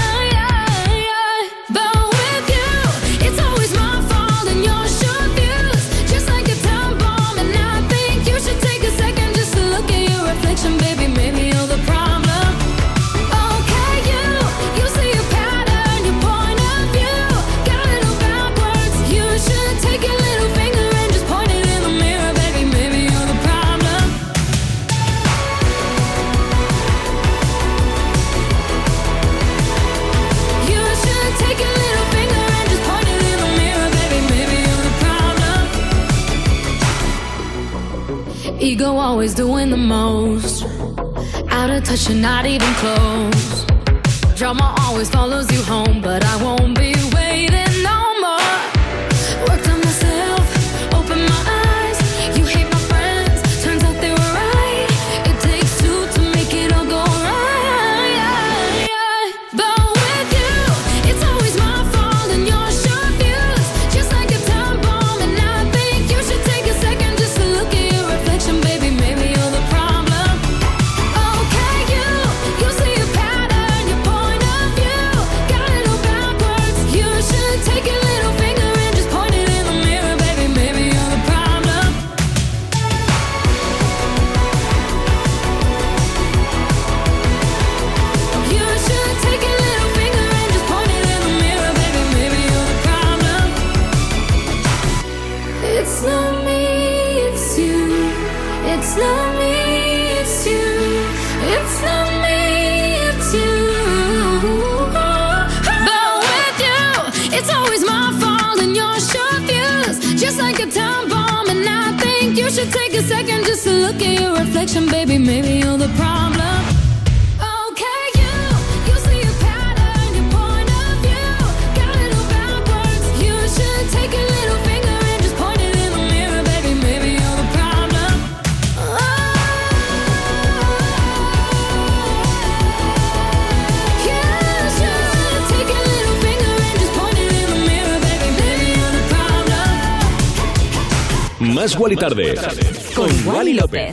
But with you, it's always my fault and your short views, just like a time bomb. And I think you should take a second just to look at your reflection, baby. Maybe you're the problem. Okay, you, you see a pattern, your point of view got a little backwards. You should take your little finger and just point it in the mirror, baby. Maybe you're the problem. You should take your little finger and just point it in the mirror, baby. Maybe you're the problem. Ego always doing the most, out of touch and not even close. Drama always follows you home, but I won't be waiting no more. Worked on myself, opened my eyes. You hate my friends, turns out they were right. It takes two to make it all go right. But with you, it's always my fault and your short views, just like a time bomb. And I think you should take a second just to look at your reflection, baby. Maybe you're the problem. Okay, you, you see a pattern, your point of view got a little backwards. You should take your little finger and just point it in the mirror, baby. Maybe you're the problem. You should take your little finger and just point it in the mirror, baby. Maybe you're the problem. It's not me, it's you. It's not me, it's you. It's not me, it's you. But with you, it's always my fault and your short views, just like a time bomb. And I think you should take a second just to look at your reflection, baby. Maybe you're the problem. Okay, you, you see a pattern, your point of view got a little backwards. You should take a little finger and just point it in the mirror, baby. Maybe you're the problem. You should take a little finger and just point it in the mirror, baby. Maybe you're the problem. Más Wally Tarde con Wally López.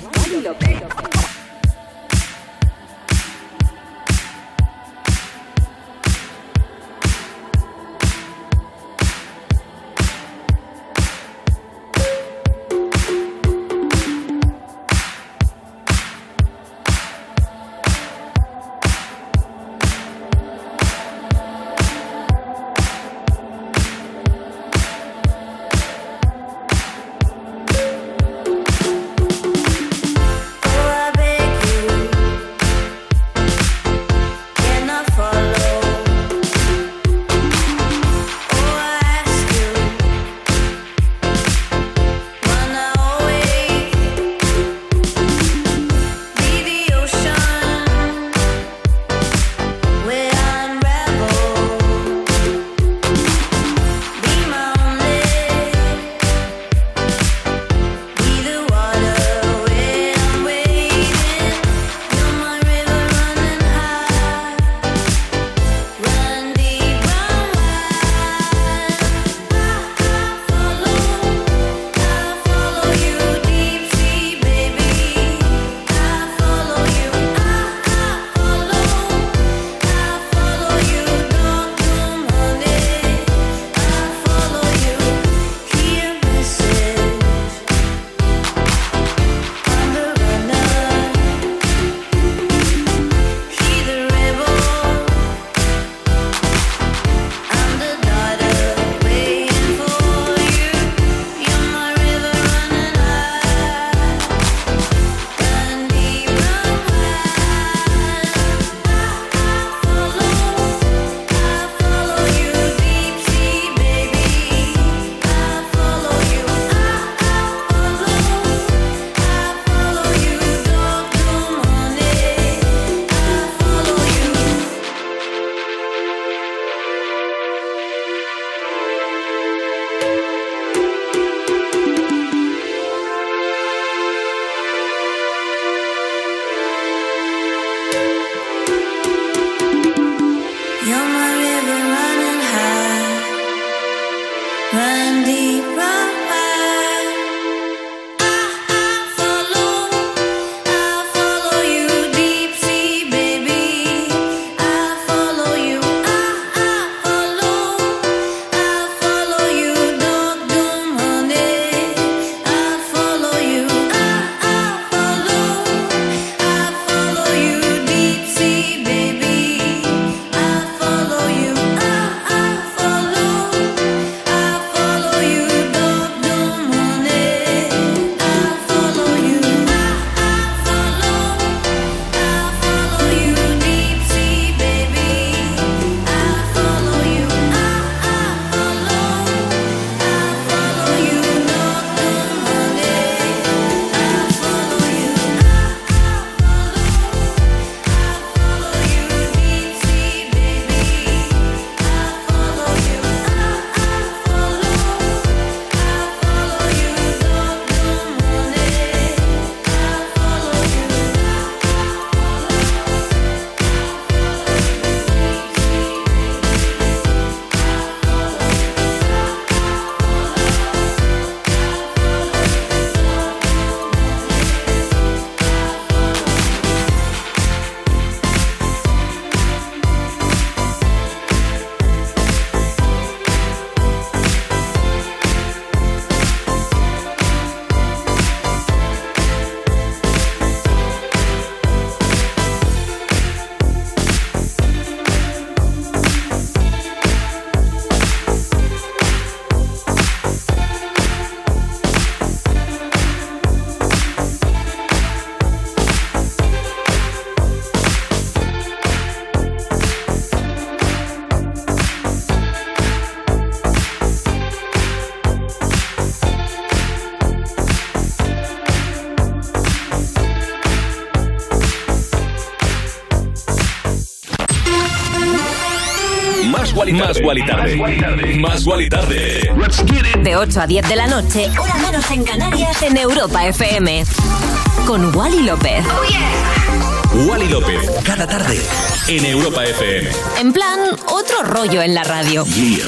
Más Guali Tarde. Más Guali Tarde. De ocho a diez de la noche, hora menos en Canarias, en Europa F M. Con Wally López. Oh, yeah. Wally López, cada tarde, en Europa F M. En plan, otro rollo en la radio. Yeah.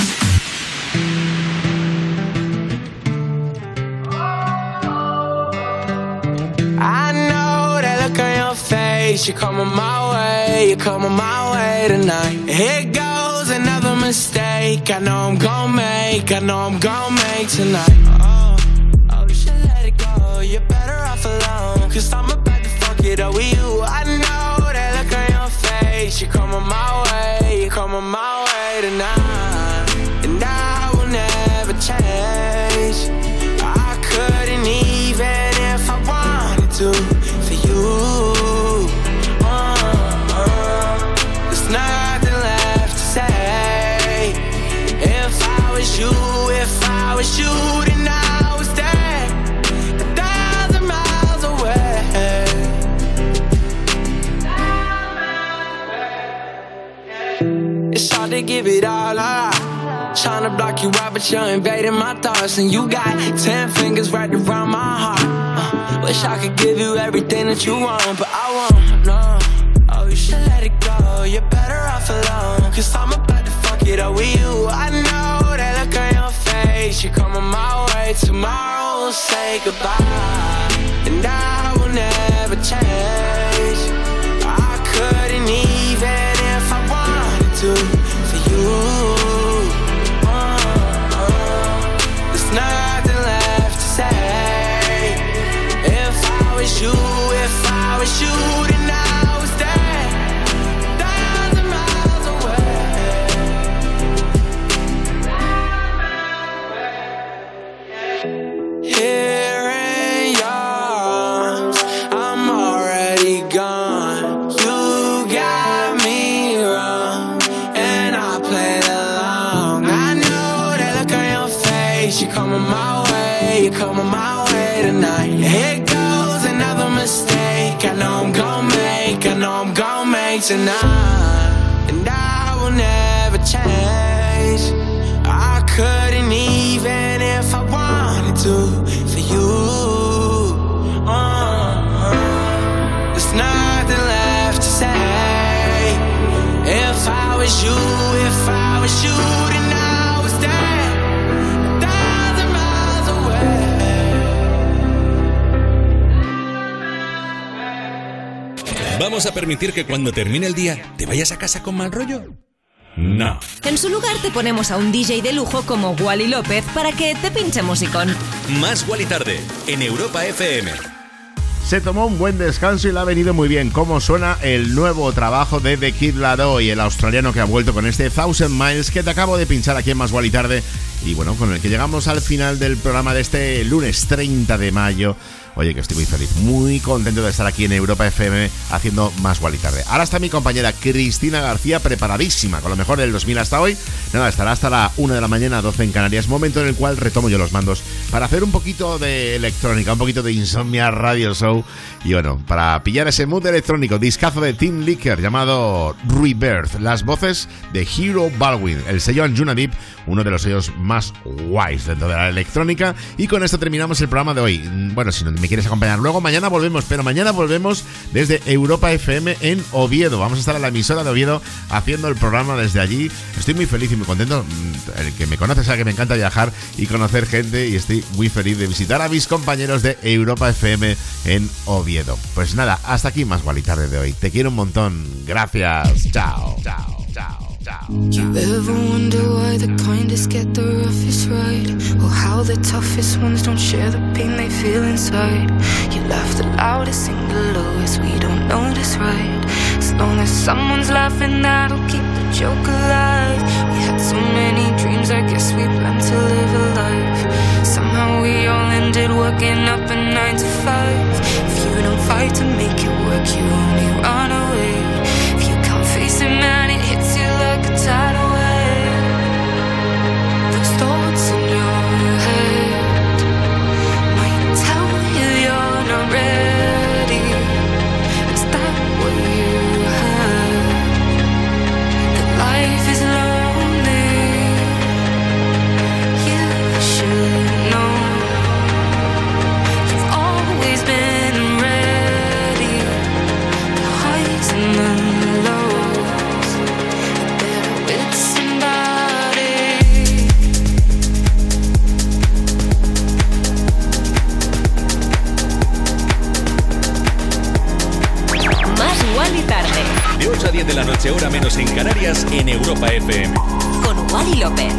I know that look on your face. You're coming my way, you're coming my way tonight. Here goes another mistake. I know I'm gon' make, I know I'm gon' make tonight. Oh, oh, you should let it go. You're better off alone. Cause I'm about to fuck it up with you. I know that look on your face. You're coming my way, you're coming my way tonight. And I will never change. I couldn't even if I wanted to for you. Uh, uh, there's nothing left to say. If I was you, if I was you, then I would stay a thousand miles away. It's hard to give it all up. Trying to block you out, but you're invading my thoughts. And you got ten fingers wrapped around my heart. uh, Wish I could give you everything that you want, but I won't, no. Oh, you should let it go, you're better off alone. Cause I'm about to fuck it up with you. I know that look on your face. You're coming my way, tomorrow we'll say goodbye. And I will never change. I couldn't even if I wanted to for you. Nothing left to say. If I was you, if I was you, then I would stay a thousand miles away. Here in your arms, I'm already gone. You got me wrong, and I played along. I know that look on your face. You're coming my way, you're coming my way tonight. Here goes another mistake. I know I'm gon' make, I know I'm gon' make tonight. And I will never change. I couldn't even if I wanted to for you. uh, There's nothing left to say. If I was you, if I was you, then I would stay ¿Vamos a permitir que cuando termine el día te vayas a casa con mal rollo? No. En su lugar te ponemos a un D J de lujo como Wally López para que te pinche musicón. Más Wally Tarde, en Europa F M. Se tomó un buen descanso y le ha venido muy bien. Cómo suena el nuevo trabajo de The Kid Laroi, el australiano que ha vuelto con este Thousand Miles que te acabo de pinchar aquí en Más Wally Tarde. Y bueno, con el que llegamos al final del programa de este lunes treinta de mayo. Oye, que estoy muy feliz, muy contento de estar aquí en Europa F M haciendo Más Wally Tarde. Ahora está mi compañera Cristina García preparadísima con lo mejor del dos mil hasta hoy. Nada, estará hasta la una de la mañana, doce en Canarias, momento en el cual retomo yo los mandos para hacer un poquito de electrónica, un poquito de Insomnia Radio Show. Y bueno, para pillar ese mood electrónico, discazo de Tim Licker llamado Rebirth, las voces de Hero Baldwin, el sello Anjuna Deep, uno de los sellos más guays dentro de la electrónica. Y con esto terminamos el programa de hoy. Bueno, si no me quieres acompañar luego, mañana volvemos, pero mañana volvemos desde Europa F M en Oviedo. Vamos a estar en la emisora de Oviedo haciendo el programa desde allí. Estoy muy feliz y muy contento. El que me conoce sabe que me encanta viajar y conocer gente, y estoy muy feliz de visitar a mis compañeros de Europa F M en Oviedo. Pues nada, hasta aquí Más Wally Tarde de hoy. Te quiero un montón. Gracias. Chao, chao, chao. You ever wonder why the kindest get the roughest ride? Or how the toughest ones don't share the pain they feel inside? You laugh the loudest, sing the lowest, we don't notice, right? As long as someone's laughing, that'll keep the joke alive. We had so many dreams, I guess we planned to live a life. Somehow we all ended working up a nine to five. If you don't fight to make it work, you only run away. If you can't face it, man, it hits you like a tidal wave. Those thoughts in your head might tell you you're not ready. Is that what you heard? That life is love. ocho a diez de la noche, hora menos en Canarias, en Europa F M. Con Wally López.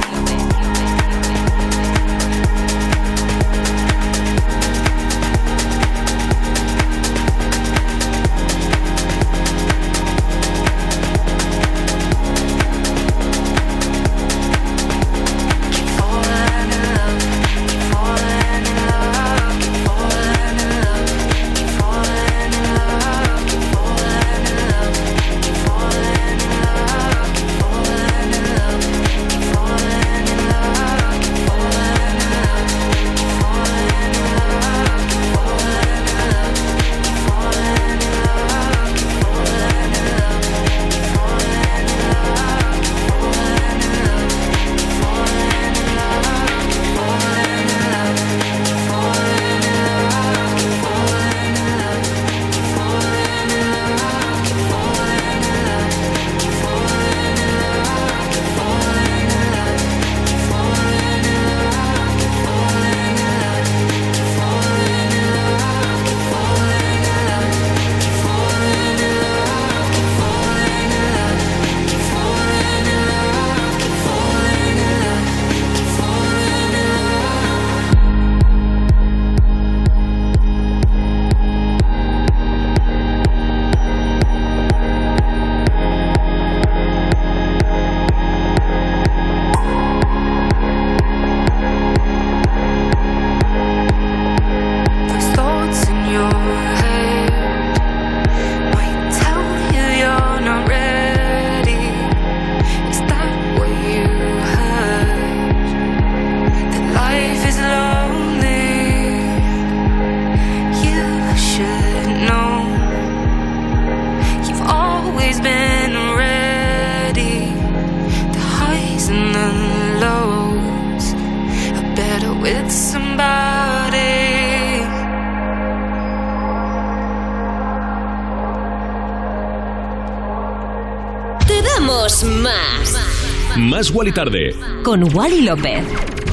Más. Más Wally Tarde. Con Wally López.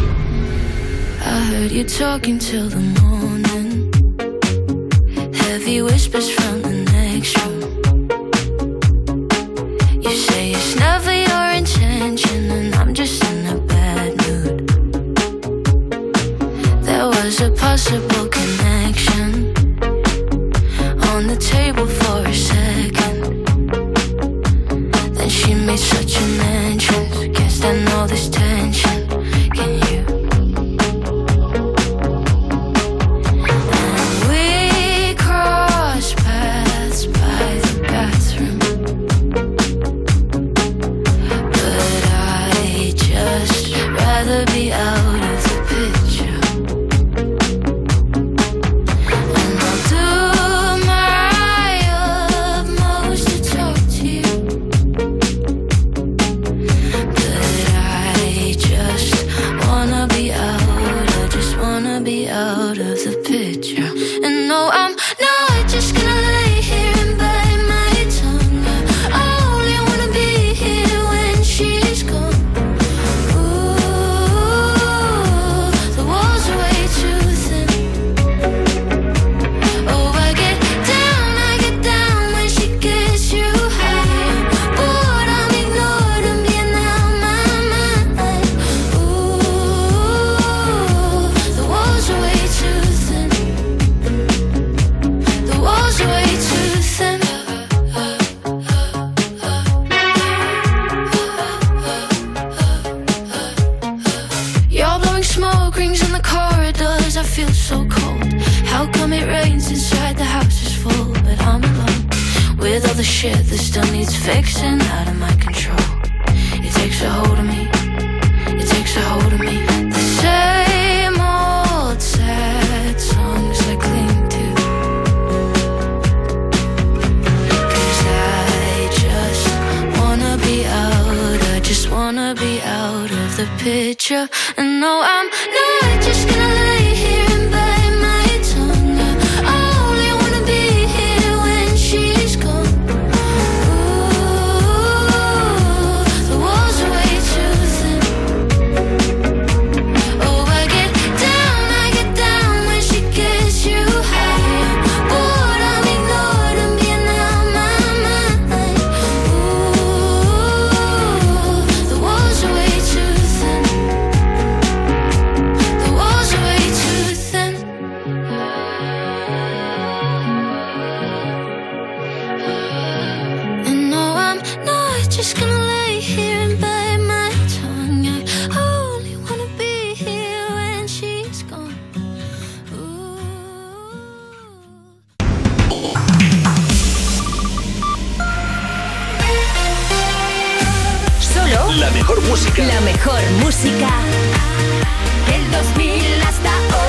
I heard you talking till the morning. Heavy whispers from the next room. You say it's never your intention, and I'm just in a bad mood. There was a possible connection on the table for a second. Then she made such an entrance. Can't stand all this tension. Can you? And we crossed paths by the bathroom, but I just rather be out of the picture. And I'll do my utmost to talk to you, but I just wanna be out. I just wanna be out of the picture. And no, I'm not just gonna lay here and bite my tongue. I only wanna be here when she's gone. Ooh, the walls are way too thin. Oh, I get down, I get down when she gets you high. Bored, I'm ignored, I'm being out my mind. Ooh, the walls are way too thin. The walls are way too thin. You're blowing smoke rings in the corridors. I feel so cold. How come it rains inside the house is full, but I'm alone with all the shit that still needs fixing, out of my control. It takes a hold of me. It takes a hold of me. The same old sad songs I cling to. 'Cause I just wanna be out. I just wanna be out of the picture. And no, I'm not just gonna lay here and bite my tongue. I only wanna be here when she's gone. Ooh, the walls are way too thin. Oh, I get down, I get down when she gets you high. Bored, I'm ignored, I'm being out my mind. just gonna lay here and bite my tongue. I only wanna be here when she's gone. Solo la mejor música. La mejor música Del dos mil hasta hoy.